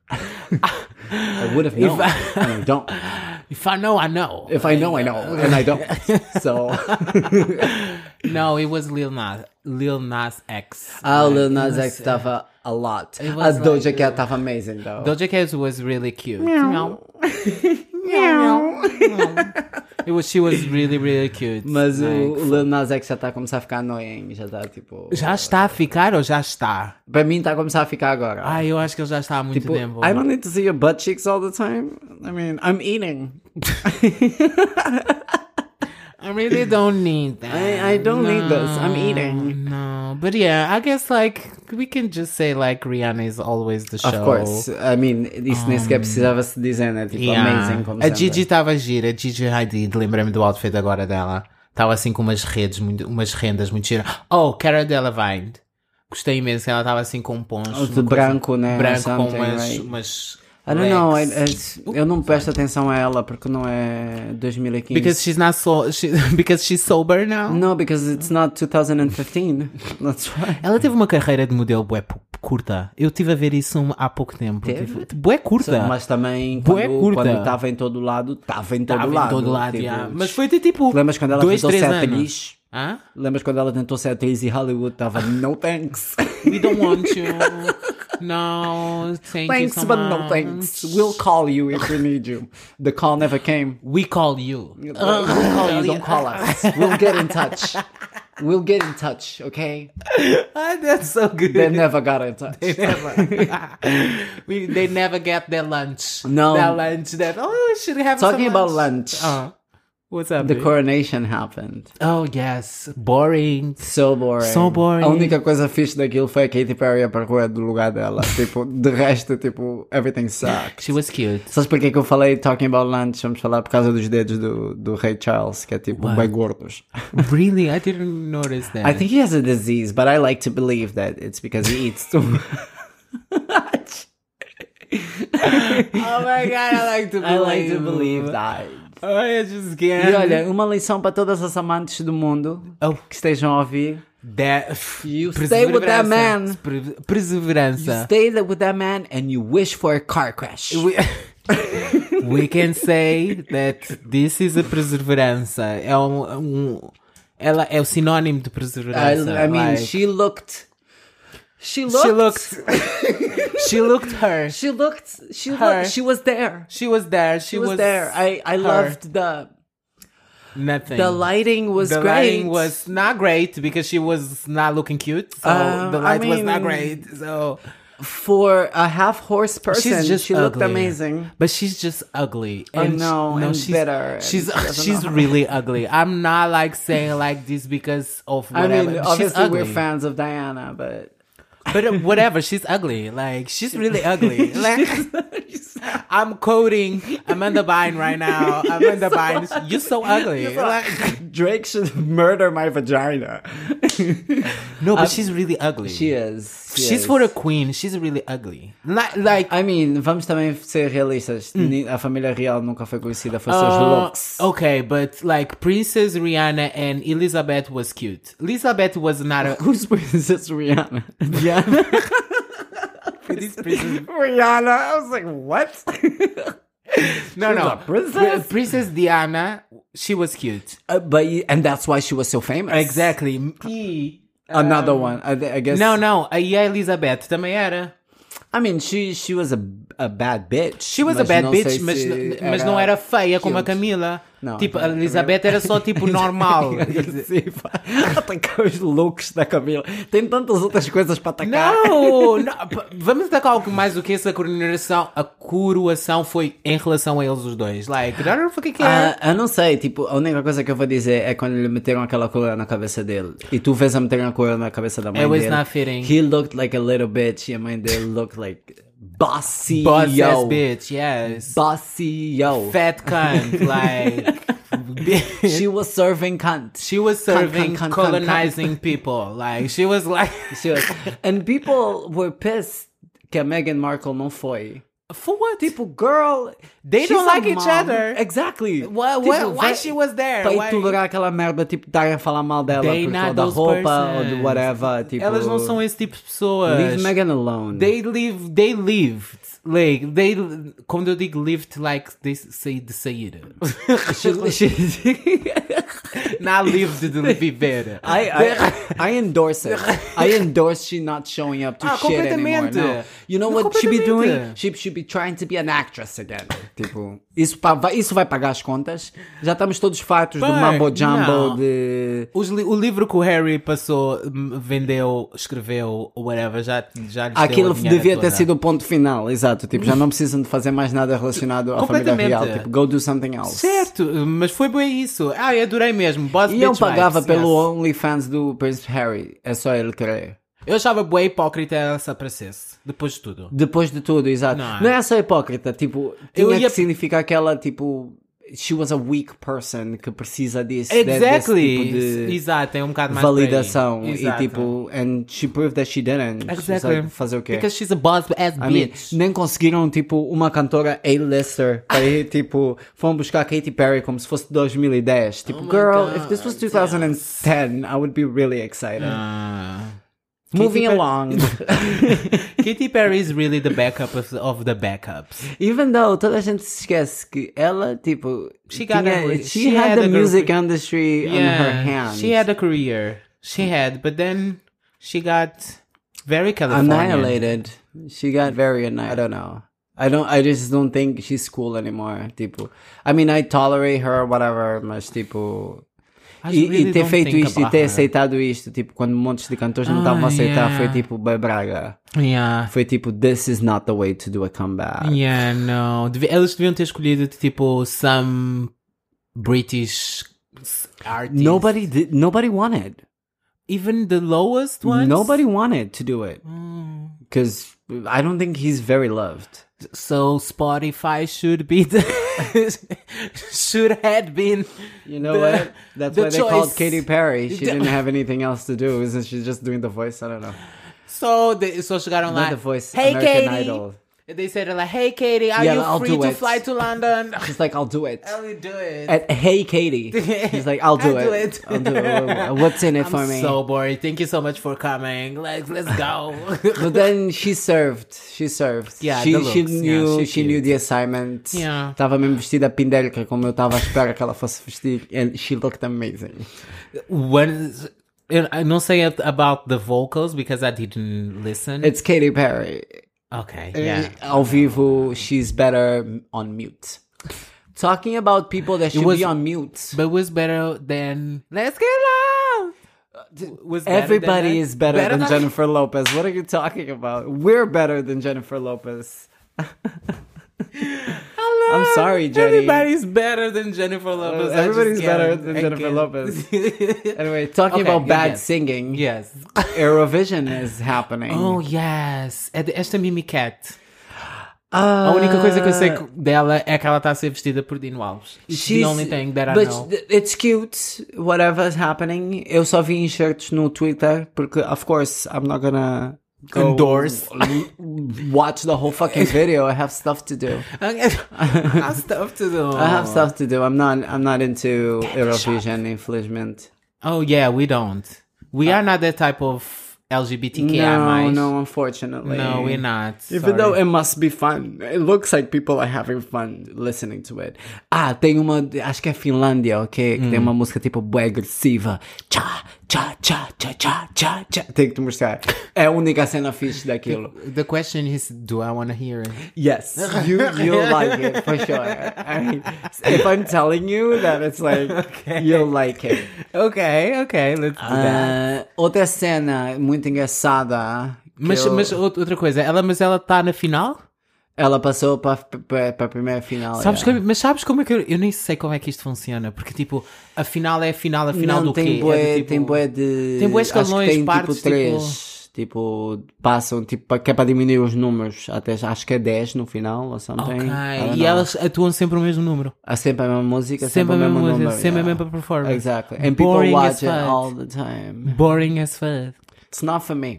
I would have known, If and I don't. If I know, I know. If I know, I know, and I don't. So... No, it was Lil Nas, Lil Nas X. Ah, o Lil Like, Nas it X was- estava a lot. It A was Doja like, Cat estava amazing, though. Doja Cat was really cute. Meow. It was, she was really, really cute. Mas o Like, o Lil Nas X já está a começar a ficar annoying. Já está tipo... já está a ficar ou já está? Para mim está a começar a ficar agora. Ah, eu acho que ele já está há muito Tipo, tempo. I don't need to see your butt cheeks all the time. I mean, I'm eating. I really don't need that. I- I don't need this. I'm eating. No, but yeah, I guess like we can just say like Rihanna is always the show. Of course. I mean, isso nem sequer precisava se dizer, né? Tipo, Yeah. amazing como A sempre. Gigi estava gira, a Gigi Hadid, lembrei-me do outfit agora dela. Estava assim com umas redes, muito, umas rendas muito giras. Oh, Cara Delevingne. Gostei imenso, ela estava assim com um poncho. De uma coisa- branco, né? Branco com Something, umas... right? umas I don't know, I, legs. I- eu não presto atenção a ela porque não é dois mil e quinze. Because she's not so... She, because she's sober now? No, because it's not two thousand fifteen. That's why. Ela teve uma carreira de modelo bué pu- curta. Eu estive a ver isso um- há pouco tempo. Teve? Tive- Bué curta. Mas também, Bué quando curta. quando estava em todo lado, estava em todo Estava lado. em todo lado, tipo, yeah. Mas foi de tipo... Lembras quando ela dois, tentou três ser anos. atriz? Hã? Lembras quando ela tentou ser atriz e Hollywood estava no thanks. We don't want you. No, thank Thanks, you so but much. no thanks. We'll call you if we need you. The call never came. We call you. We'll call you, don't call us. We'll get in touch. We'll get in touch, okay? Ah, that's so good. They never got in touch. They never. we, they never get their lunch. No. Their lunch that, oh, we should have Talking some about lunch. lunch, Uh, what's up? the babe? coronation happened. Oh, yes. Boring. So boring. So boring. A única coisa fixe daquilo foi a Katy Perry a percorrer do lugar dela. Tipo, de resto, tipo, everything sucks. She was cute. Sabes porquê que eu falei talking about lunch? Vamos falar por causa dos dedos do, do Rei Charles, que é tipo, What? bem gordos. Really? I didn't notice that. I think he has a disease, but I like to believe that it's because he eats too much. Oh my God, I like to believe. I like to believe that. Oh, I just E can't. olha, uma lição para todas as amantes do mundo Oh. que estejam a ouvir. That, You stay with that man. Pre- Perseverança. Stay there with that man and you wish for a car crash. We, we can say that this is a perseverança. É um, um ela é o sinónimo de I, perseverança. I mean, like, she looked. She looked. she looked. She looked her. She looked. She Her. looked. She was there. She was there. She, She was, there. I I her. loved the Nothing. the lighting was the great. lighting was not great because she was not looking cute. So Um, the light I was not mean- great. So For a half horse person, She's just she looked ugly. amazing. But she's just ugly. I And know, sh- no, and she's bitter, and She's she doesn't she's know how- really ugly. I'm not like saying like this because of I whatever. mean, she's obviously ugly. we're fans of Diana, but But uh, whatever, she's ugly. Like she's really ugly. Like I'm quoting Amanda Bynes right now. Amanda Bynes, you're so ugly. Like, Drake should murder my vagina. no, but she's really ugly. She is. she She's is. for a queen. She's really ugly. Like, like I mean, vamos também ser realistas. Ni- A família real nunca foi conhecida por seus uh, looks. okay, but like Princess Rihanna and Elizabeth was cute. Elizabeth was not a Who's Princess Rihanna? Diana? this princess. Rihanna? I was like, what? No, She's no, a princess? Pri- Princess Diana. She was cute. Uh, but y- and that's why she was so famous. Exactly. E, Another one. I, I guess. Não, não. A Elizabeth também era. I mean, she she was a, a bad bitch. She was a mas bad não bitch, sei mas, se n- mas não era feia como a cute. Camila. Não, tipo, a a Elizabeth era só tipo normal. Sim, pá. Atacar os looks da Camila. Tem tantas outras coisas para atacar. Não, não, p- vamos atacar algo mais do que essa coroação. A coroação foi em relação a eles os dois. Like, I don't fucking care. Ah, eu não sei, tipo, a única coisa que eu vou dizer é quando lhe meteram aquela coroa na cabeça dele e tu vês a meter a coroa na cabeça da mãe It was dele. not fitting. He looked like a little bitch e a mãe dele looked like bossy Boss yo. ass bitch, yes. Bossy yo. Fat cunt, like. She was serving cunt. She was Cunt, serving, cunt, cunt, colonizing people. Like, she was like. She was, and people were pissed que a Meghan Markle não foi. For what? Tipo, girl, They she's don't a like each mom. other. Exactly. Why, Tipo, why, why vai- she was there? Para Why? tolerar aquela merda, tipo, estarem a falar mal dela They por not causa da those roupa ou de persons. whatever. Tipo, Elas não são esse tipo de pessoas. Leave Meghan alone. They live, they lived. Like, they, quando eu digo lived, like, they say de sair. She- she- Not lived de viver. I, I, I endorse it. I endorse she not showing up to Ah, shit anymore. completamente. No. You know Não, what she be doing? completamente. She should be trying to be an actress again. Tipo, isso, pa- vai, isso vai pagar as contas. Já estamos todos fartos do But, mambo jumbo não. de... Os li- o livro que o Harry passou, m- vendeu, escreveu, whatever, já, já lhes deu Aquilo a dinheira devia ter toda. sido o ponto final, exato. Tipo, já não precisam de fazer mais nada relacionado à família Completamente. real. Tipo, go do something else. Certo, mas foi bem isso. Ah, eu adorei mesmo. Boss E eu bitch pagava vibes, pelo yes. OnlyFans do Prince Harry. É só ele querer. Eu achava bué hipócrita ela se aparecesse, depois de tudo. Depois de tudo, exato. Não é? Não é só hipócrita, tipo, Eu tinha ia- que significar que ela, tipo, she was a weak person que precisa disso, de- Exactly. desse tipo de Exato, é um bocado mais por aí. validação. E Exato. tipo, and she proved that she didn't. Exactly. Sabe fazer o quê? Because she's a boss ass I mean, bitch. nem conseguiram, tipo, uma cantora A-lister para ir, tipo, foram buscar Katy Perry como se fosse dois mil e dez. Tipo, Oh my girl, God, if this was twenty ten, I would be really excited. Ah. Moving Katy Per- along. Katy Perry is really the backup of, of the backups. Even though toda a gente se esquece que ela, tipo, She got tinha- a- she, she had, had the a girl- music industry on her hands. she had a career. She had, but then she got very Californian. annihilated. She got very annihilated. I don't know. I don't. I just don't think she's cool anymore. Tipo, I mean, I tolerate her, whatever, mas tipo. I E, really e ter don't feito think isto e about ter her. aceitado isto, tipo, quando montes de cantores não estavam a Ah, aceitar, yeah. foi tipo, bem braga. Yeah. Foi tipo, this is not the way to do a comeback. Yeah, no. Devi- eles deviam ter escolhido tipo some British artist. Nobody did. Nobody wanted. Even the lowest ones. Nobody wanted to do it Mm. because I don't think he's very loved. So Spotify should be the should have been. You know the- what? That's the why they called choice. Katy Perry. She The- didn't have anything else to do. Isn't she just doing the voice? I don't know. So they so chegaram Not lá. the voice. Hey American Katie. Idol. They said like, "Hey Katie, are Yeah, you I'll free do to it. fly to London?" She's like, I'll do it. I'll do it. At Hey Katie. He's like, I'll do I'll do it. it. I'll do it. What's in it I'm for me? so bored. Thank you so much for coming. Let's let's go. But then she served. She served. Yeah, she, the she looks. knew. Yeah, she she knew cute. the assignment. Yeah. Tava mesmo vestida pindérica como eu tava à espera que ela fosse vestir, and she looked amazing. When I don't say it about the vocals because I didn't listen. It's Katy Perry. okay, Eh, yeah. Ao vivo, she's better on mute. Talking about people that should was- be on mute. But it was better than Let's Get Loud. Was better Everybody than is better, better than, than- Jennifer Lopez. What are you talking about? We're better than Jennifer Lopez. I'm sorry, Jenny. Everybody's better than Jennifer Lopez. I Everybody's just better can't- than I Jennifer can't. Lopez. Anyway, talking Okay, about bad yes. singing. Yes. Eurovision is happening. Oh, yes. É de- Esta Mimi Cat. Uh, A única coisa que eu sei dela é que ela está a ser vestida por Dino Alves. It's the she's- only thing that I but know. it's cute, whatever's happening. Eu só vi enxertos no Twitter, porque, of course, I'm not gonna go Endorse. watch the whole fucking video. I have stuff to do. I have stuff to do. I have stuff to do. I'm not. I'm not into Eurovision, infelizmente. Oh, yeah, we don't. We are not that type of L G B T Q I No, mais. no, unfortunately. No, we're not. Even Sorry. though it must be fun. It looks like people are having fun listening to it. Ah, tem uma, acho que é Finlândia, ok? Que tem uma música tipo bué agressiva. Tchá, tchá, tchá, tchá, tchá, tchá, tchá. Tenho que te mostrar. É a única cena fixe daquilo. The question is, do I want to hear it? Yes, you you'll like it for sure. I mean, if I'm telling you that it's like, you'll like it. Okay, okay, let's do that. Ah, outra cena muito engraçada. que Mas, eu- mas out- outra coisa, ela, mas ela está na final? Ela passou para a primeira final. Sabes yeah. que- mas sabes como é que eu, eu nem sei como é que isto funciona? Porque tipo, a final é a final, a final Não, do tem quê? bué, É do, tipo, tem bué de... tem bué acho que escalões, tem partes, tipo três. Tipo, passam, tipo, pa- que é para diminuir os números. Até, acho que é dez no final, ou something. Ok, I don't e know. elas atuam sempre o mesmo número. Há sempre a mesma música, Sempre sempre, a o mesma mesmo música, número. sempre a yeah. mesma performance. Exactly. And people Boring watch as it fuck. all the time. Boring as fuck. It's not for me.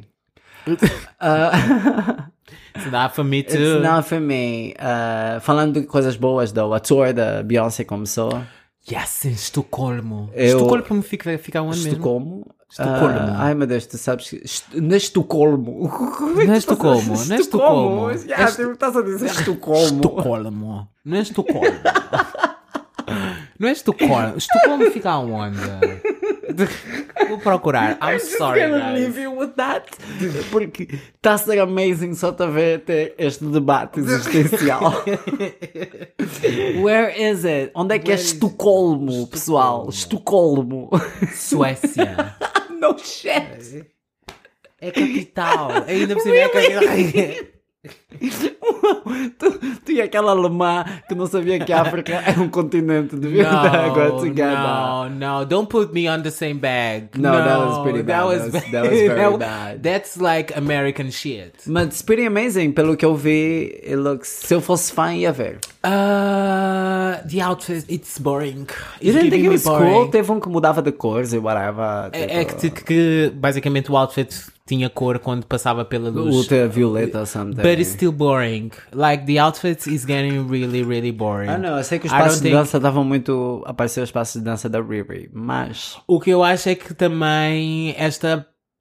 uh, It's not for me too. It's not for me. Uh, falando de coisas boas, though, a tour da Beyoncé começou. Yes, em Estocolmo. Eu- Estocolmo fica, fica onde mesmo? Estocolmo. Estocolmo. Ah, ai meu Deus, tu sabes que. est- Na Estocolmo. Como é que Na tu Estocolmo, estás- na Estocolmo. Yeah, Est- tu estás a dizer Estocolmo. Estocolmo. Não é Estocolmo. Não é Estocolmo. Estocolmo fica aonde? Vou procurar. I'm sorry, I'm gonna guys. leave you with that. Porque está a ser amazing só te ver ter este debate existencial. Where is it? Onde é que é Where is- Estocolmo, pessoal? Estocolmo. Suécia. No shit. É capital. Ainda por cima é capital. tu, tu e aquela alemã que não sabia que a África é um continente. Devia estar agora No, together. no, no. Don't put me on the same bag. No, that was pretty bad. That was, That was- that was very that- bad. That's like American shit. Mas it's pretty amazing. Pelo que eu vi, it looks... Se eu fosse fã, ia ver. Uh, the outfit, it's boring. You It's didn't think giving it me was boring. cool? Teve um que mudava de cores e whatever. É, é que, tipo, que, que basicamente o outfit tinha cor quando passava pela luz. ultravioleta or something. But it's still boring. Like the outfit is getting really, really boring. Ah, não. Eu sei que os I don't passos de think- dança estavam muito... Apareceram os passos de dança da Riri. Mas... O que eu acho é que também esta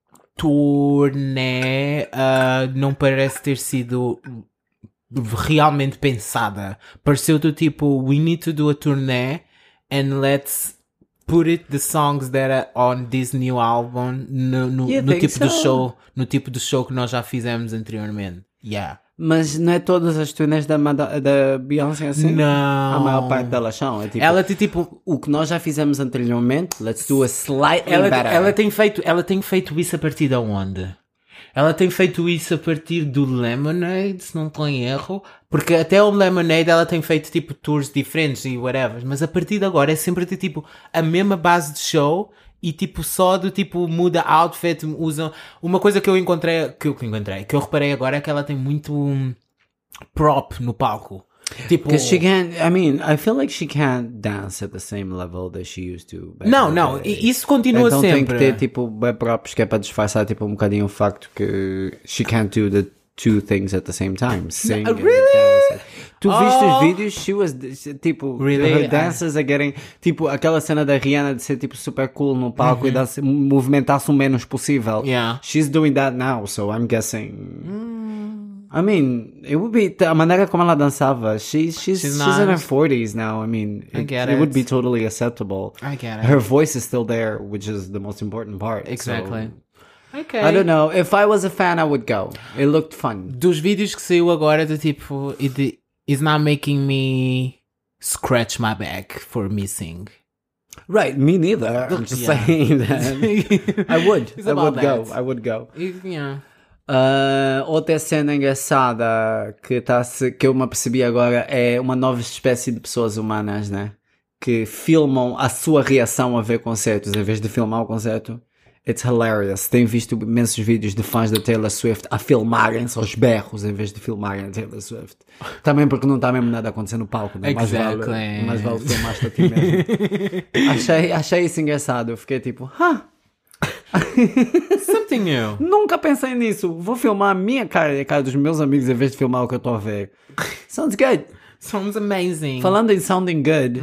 turnê uh, não parece ter sido realmente pensada. Pareceu do tipo, we need to do a turnê and let's put it the songs that are on this new album no, no, You no think tipo de so? show, no tipo de show que nós já fizemos anteriormente. Yeah. Mas não é todas as turnês da, Mada- da Beyoncé assim? Não. A maior parte delas são. É tipo, Ela tem tipo o que nós já fizemos anteriormente, let's do a slightly ela, better. ela tem feito, ela tem feito isso a partir de onde? Ela tem feito isso a partir do Lemonade, se não estou em erro, porque até o Lemonade ela tem feito tipo tours diferentes e whatever, mas a partir de agora é sempre de tipo a mesma base de show e tipo só do tipo muda outfit, usam uma coisa que eu encontrei, que eu que encontrei, que eu reparei agora é que ela tem muito hum, prop no palco. Tipo, Because she can't, I mean, I feel like she can't dance at the same level that she used to. back não, in the não, day. i- isso continua Então sempre. tem que ter tipo bem próprios que é para disfarçar tipo um bocadinho o facto que she can't do the two things at the same time. Sing and really? dance. Tu viste Oh. os vídeos? She was tipo Really? her dances are getting tipo aquela cena da Rihanna de ser tipo super cool no palco e dança, movimentar-se o menos possível. Yeah. She's doing that now, so I'm guessing. I mean, it would be a maneira como ela dançava. She's she's She's she's, in her nice. forties now. I mean, I it, get it would it. be totally acceptable. I get it. Her voice is still there, which is the most important part. Exactly. So, Okay. I don't know. If I was a fan, I would go. It looked fun. Dos vídeos que saiu agora do tipo it is not making me scratch my back for missing. Right, me neither. I'm just Yeah. saying that. I would. It's I about would go. that. I would go. Yeah. Uh, outra cena engraçada que, tá, que eu me apercebi agora é uma nova espécie de pessoas humanas, né? Que filmam a sua reação a ver concertos em vez de filmar o concerto. It's hilarious. Tenho visto imensos vídeos de fãs da Taylor Swift a filmarem-se aos berros em vez de filmarem a Taylor Swift. Também porque não está mesmo nada a acontecer no palco, né? Mais Exactly. vale, mais vale filmar-te a ti mesmo. achei, achei isso engraçado. Eu fiquei tipo, ah, Something new. nunca pensei nisso. Vou filmar a minha cara e a cara dos meus amigos em vez de filmar o que eu estou a ver. Sounds good. Sounds amazing. Falando em sounding good,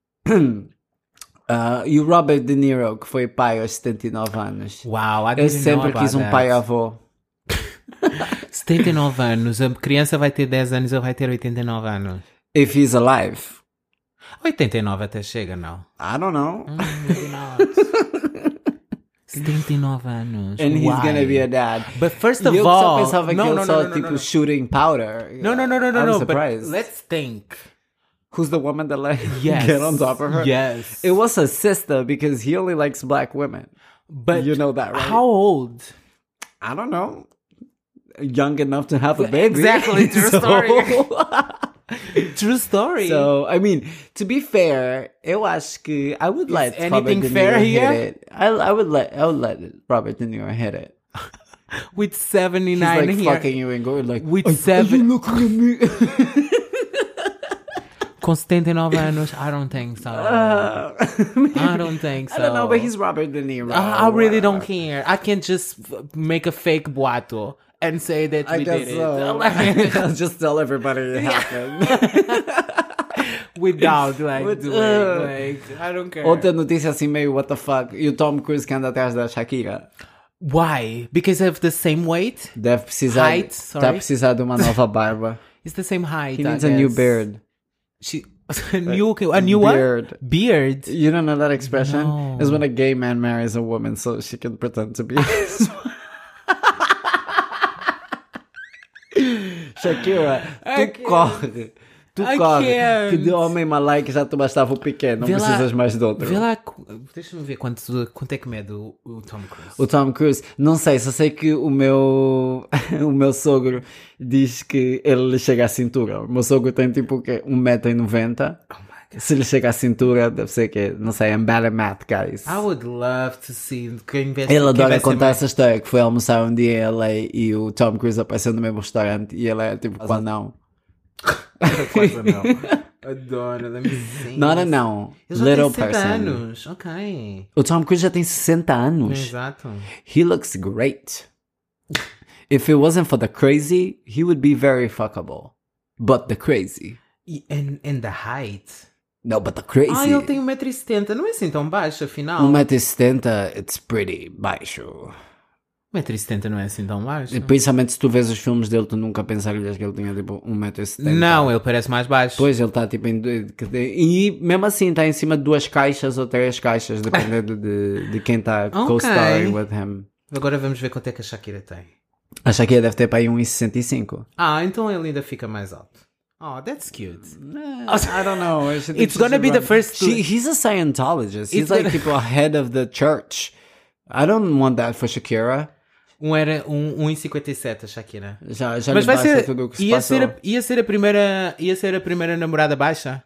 uh, e o Robert De Niro, que foi pai aos setenta e nove anos. Wow, I Eu didn't know sempre about quis um that. pai avô. setenta e nove anos. A criança vai ter dez anos, ele vai ter oitenta e nove anos. If he's alive. oitenta e nove até chega, não? I don't know. Maybe not. setenta e nove anos. And he's Why? gonna be a dad. But first E of eu all... só pensava que no, ele no, só, no, no, tipo, no, no. shooting powder. No, no, no, no, no, I was no. surprised. But let's think. Who's the woman that let him Yes. get on top of her? Yes. It was her sister because he only likes black women. But You know that, right? how old? I don't know. Young enough to have a baby. Exactly, true So- story. True story. So, I mean, to be fair, eu acho que I would let anything Robert De Niro fair hit here? it. I, I would let I would let Robert De Niro hit it. With He's seventy-nine like here. fucking you and going like, With "Are- seven- Are you looking at me? Com setenta e nove anos, I don't think so. Uh, I don't think so. I don't know, but he's Robert De Niro. I, I really don't care. I can just f- make a fake boato and say that I we guess did so. it. I'll just tell everybody it happened. Without like With- doing uh, like I don't care. Outra notícia assim meio what the fuck. E o Tom Cruise que anda atrás da Shakira. Why? Because of the same weight? Deve precisar. Height, Está sorry. a precisar de uma nova barba. It's the same height. He I needs a new guess. beard. She a new a new what? Beard. Beard. You don't know that expression? No. It's when a gay man marries a woman so she can pretend to be his wife. Shakira, I tu can't. corre. Tu I corre. can't. Que de homem malaique já tu bastava o pequeno. Não Vê lá- precisas mais de outro. Vê lá, qu- deixa-me ver quanto, quanto é que mede o, o Tom Cruise. O Tom Cruise, não sei, só sei que o meu o meu sogro diz que ele lhe chega à cintura. O meu sogro tem tipo o quê? um metro e noventa. Oh my God. Se lhe chega à cintura, deve ser que, não sei, I'm bad at math, guys. I would love to see quem vai, Ele quem adora vai ser contar mais- essa história que foi almoçar um dia em L A e o Tom Cruise apareceu no mesmo restaurante e ele é tipo, qual não? Quase não. Adoro, let me see. Not não. Ele já Little tem sessenta person. anos, ok. O Tom Cruise já tem sessenta anos. Exato. He looks great. If it wasn't for the crazy, he would be very fuckable. But the crazy. E and, and the height. No, but the crazy. Ah, ele tem um metro e setenta, não é assim tão baixo, afinal. um metro e setenta, it's pretty baixo. um metro e setenta não é assim tão baixo. E principalmente se tu vês os filmes dele, tu nunca pensarias que ele tinha tipo um metro e setenta. Não, ele parece mais baixo. Pois, ele está tipo em... E mesmo assim está em cima de duas caixas ou três caixas, dependendo de, de quem está Ok. co-starring with him. Agora vamos ver quanto é que a Shakira tem. A Shakira deve ter para aí um metro e sessenta e cinco. Ah, então ele ainda fica mais alto. Oh, that's cute. I don't know. I should- It's gonna be the first to- She, he's a Scientologist. He's It's like gonna- people head of the church. I don't want that for Shakira. Um era um, um e cinquenta e sete a Shakira. Já, já Mas lhe vai basta ser, tudo o que se ia passou. ser, a, ia ser a primeira, ia ser a primeira namorada baixa.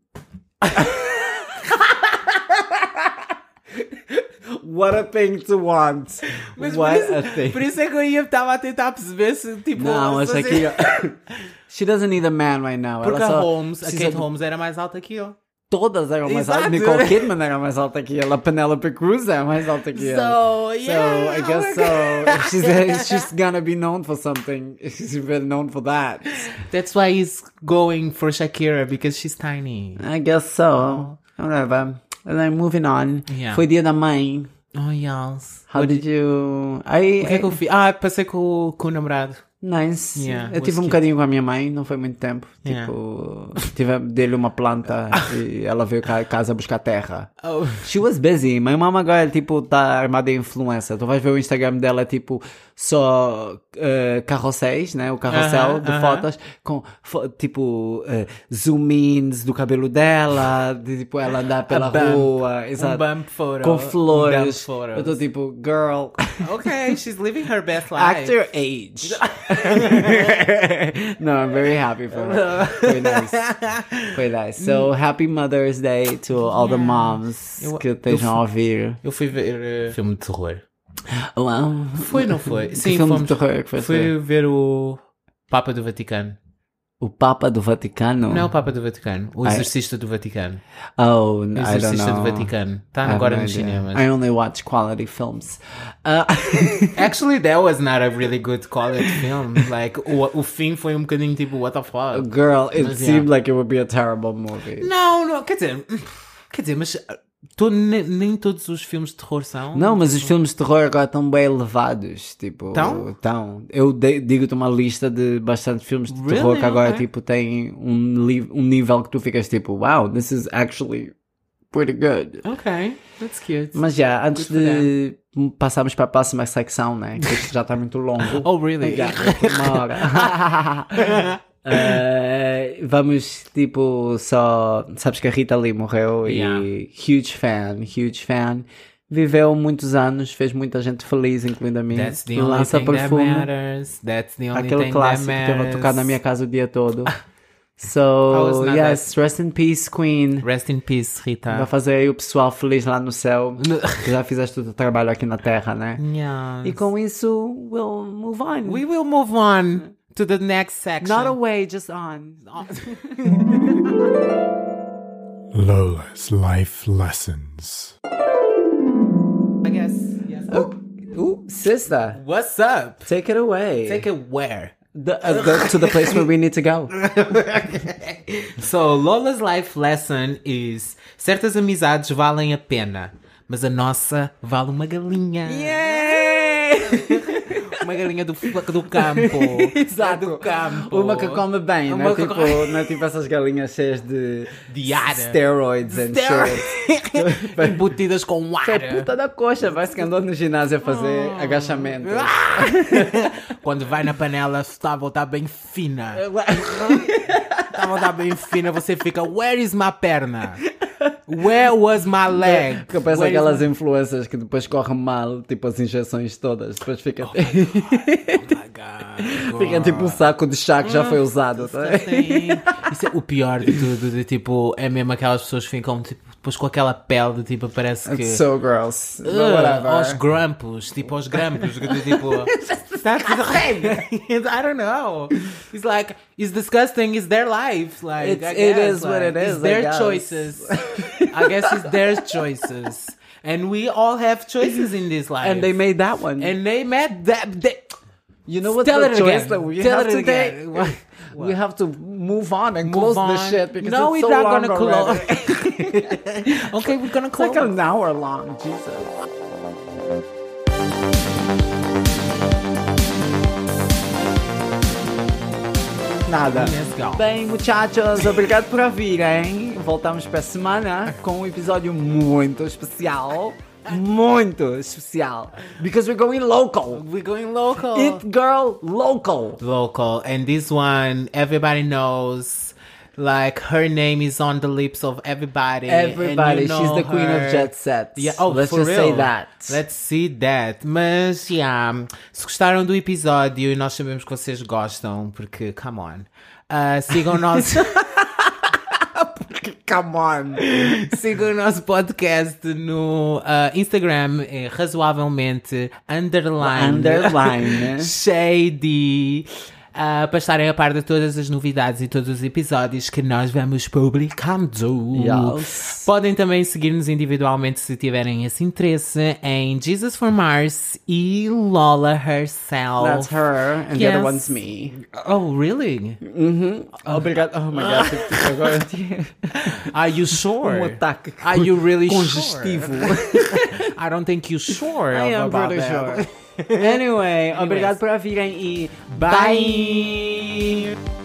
What a thing to want. Mas What por, a isso, thing. por isso é que eu ia estava a tentar perceber se tipo Não, a se você- Shakira... She doesn't need a man right now. Porque Ela a só Holmes, a precisa Kate de- Holmes era mais alta que eu. Todas eram mais Exato. altas. Nicole Kidman era mais alta que ela. Penelope Cruz era mais alta que ela. So, yeah, So, I oh guess my so. If she's, if she's gonna be known for something, she's been known for that. That's why he's going for Shakira, because she's tiny. I guess so. Whatever. And then moving on. Yeah. Foi dia da mãe. Oh, yes. How did you... I, O que é que eu fiz? Ah, passei com, o- com o namorado. Nice. Yeah, eu was tive um cute. bocadinho com a minha mãe, não foi muito tempo. Yeah. Tipo, tive, dei-lhe uma planta e ela veio cá a casa buscar terra. Oh. She was busy. My mama agora, tipo, tá armada em influencer. Tu vais ver o Instagram dela, tipo, só uh, carrosséis, né? O carrossel Uh-huh, de uh-huh. fotos com fo- tipo uh, zoom-ins do cabelo dela, de tipo ela andar pela A bump. rua, exato, Um bump photo. com Um bump flores. photos. Eu tô tipo, girl, Okay, she's living her best life. act your age. No, I'm very happy for her. Foi nice. Foi nice. So, happy Mother's Day to all the moms Eu- que estejam eu- a ouvir. Eu fui ver uh, filme de terror. Uau. Foi, não foi? Que Sim, filme fomos. de terror que foi Fui ver o Papa do Vaticano. O Papa do Vaticano? Não é o Papa do Vaticano, o Ah, é? Exorcista do Vaticano. Oh, O I don't Exorcista know. do Vaticano. I Está have agora no nos idea. cinemas. I only watch quality films. Uh, Actually, that was not a really good quality film. Like, o, o fim foi um bocadinho tipo, what the fuck? girl, it Mas, seemed yeah. like it would be a terrible movie. Não, não, quer dizer, quer dizer, mas uh, to, nem, nem todos os filmes de terror são. Não, mas os filmes de terror agora estão bem elevados. Tipo, Tão? estão. Eu de- digo-te uma lista de bastante filmes de Really? terror que agora Okay. tipo, têm um, li- um nível que tu ficas tipo, wow, this is actually pretty good. Ok, that's cute. Mas já, antes Good for de passarmos para a próxima secção, né? Que isto já está muito longo. Oh, really? Já, uma hora. Eh, vamos, tipo, só... Sabes que a Rita Lee morreu Yeah. e huge fan, huge fan. Viveu muitos anos, fez muita gente feliz, incluindo a mim. That's the E only lança thing that perfume. matters. That's the only Aquele thing clássico that que eu vou matters. tocar na minha casa o dia todo. was So, not yes, rest in peace, Queen. Rest in peace, Rita. Vai fazer aí o pessoal feliz lá no céu. Que já fizeste o teu trabalho aqui na Terra, né? Yes. E com isso, we'll move on. We will move on to the next section. Not away, just on. Lola's Life Lessons. I guess. Yes. Oh, ooh, sister, What's up? take it away. Take it where? The, uh, the, to the place where we need to go. So, Lola's life lesson is: certas amizades valem a pena, mas a nossa vale uma galinha. Uma galinha do, do campo. Exato. Do campo. Uma que come bem, Uma não é que tipo, come- não é tipo essas galinhas cheias de De ar. steroids and shit. Embutidas com Que é ar. puta da coxa, vai-se que andou no ginásio a fazer agachamento. Quando vai na panela, está a voltar bem fina. Está a voltar bem fina, você fica: where is my perna? Where was my leg? Que parece Where is aquelas my- influências que depois correm mal, tipo as injeções todas. Depois fica, Oh my God, fica tipo um saco de chá que já foi usado. Tá? Sim. Isso é o pior de tudo, de tipo, é mesmo aquelas pessoas que ficam tipo, depois com aquela pele de tipo, parece que. It's so gross. But Ugh, whatever. aos grampos, tipo aos grampos, que tipo. That's I don't know. It's like it's disgusting. It's their life. Like It's- I it guess, is what like, it is, It's I their guess. choices. I guess it's their choices, and we all have choices in this life. And they made that one. and they made that. They, you know what's Tell the it choice again. that we Tell have it to again. take? We have to move on and Move close this on. shit because No, it's we're so not long gonna close. already. Okay, we're gonna It's close. like an hour long. Jesus. Nada. Let's go. Bem, muchachos, obrigado por ouvirem. Voltamos para a semana com um episódio muito especial. Muito especial. Because we're going local. We're going local. It girl local. Local, and this one everybody knows. Like her name is on the lips of everybody. and Everybody, you she's know the queen her. of jet sets. Yeah, oh, Let's for just real. say that. Let's see that. Mas, yeah, se gostaram do episódio, e nós sabemos que vocês gostam, porque, come on, uh, sigam o nosso... Come on. Sigam o nosso podcast no uh, Instagram, é razoavelmente underline, Underline. shady, uh, para estarem a par de todas as novidades e todos os episódios que nós vamos publicando. Yes. Podem também seguir-nos individualmente se tiverem esse interesse em Jesus for Mars e Lola herself. That's her, and the Yes. other one's me. Oh, really? Obrigado. Oh my god, tipo, agora eu tinha Are you sure? um ataque Are you really congestivo. sure? I don't think you're sure I am about pretty that. sure. Anyway, obrigado por ouvirem e Bye.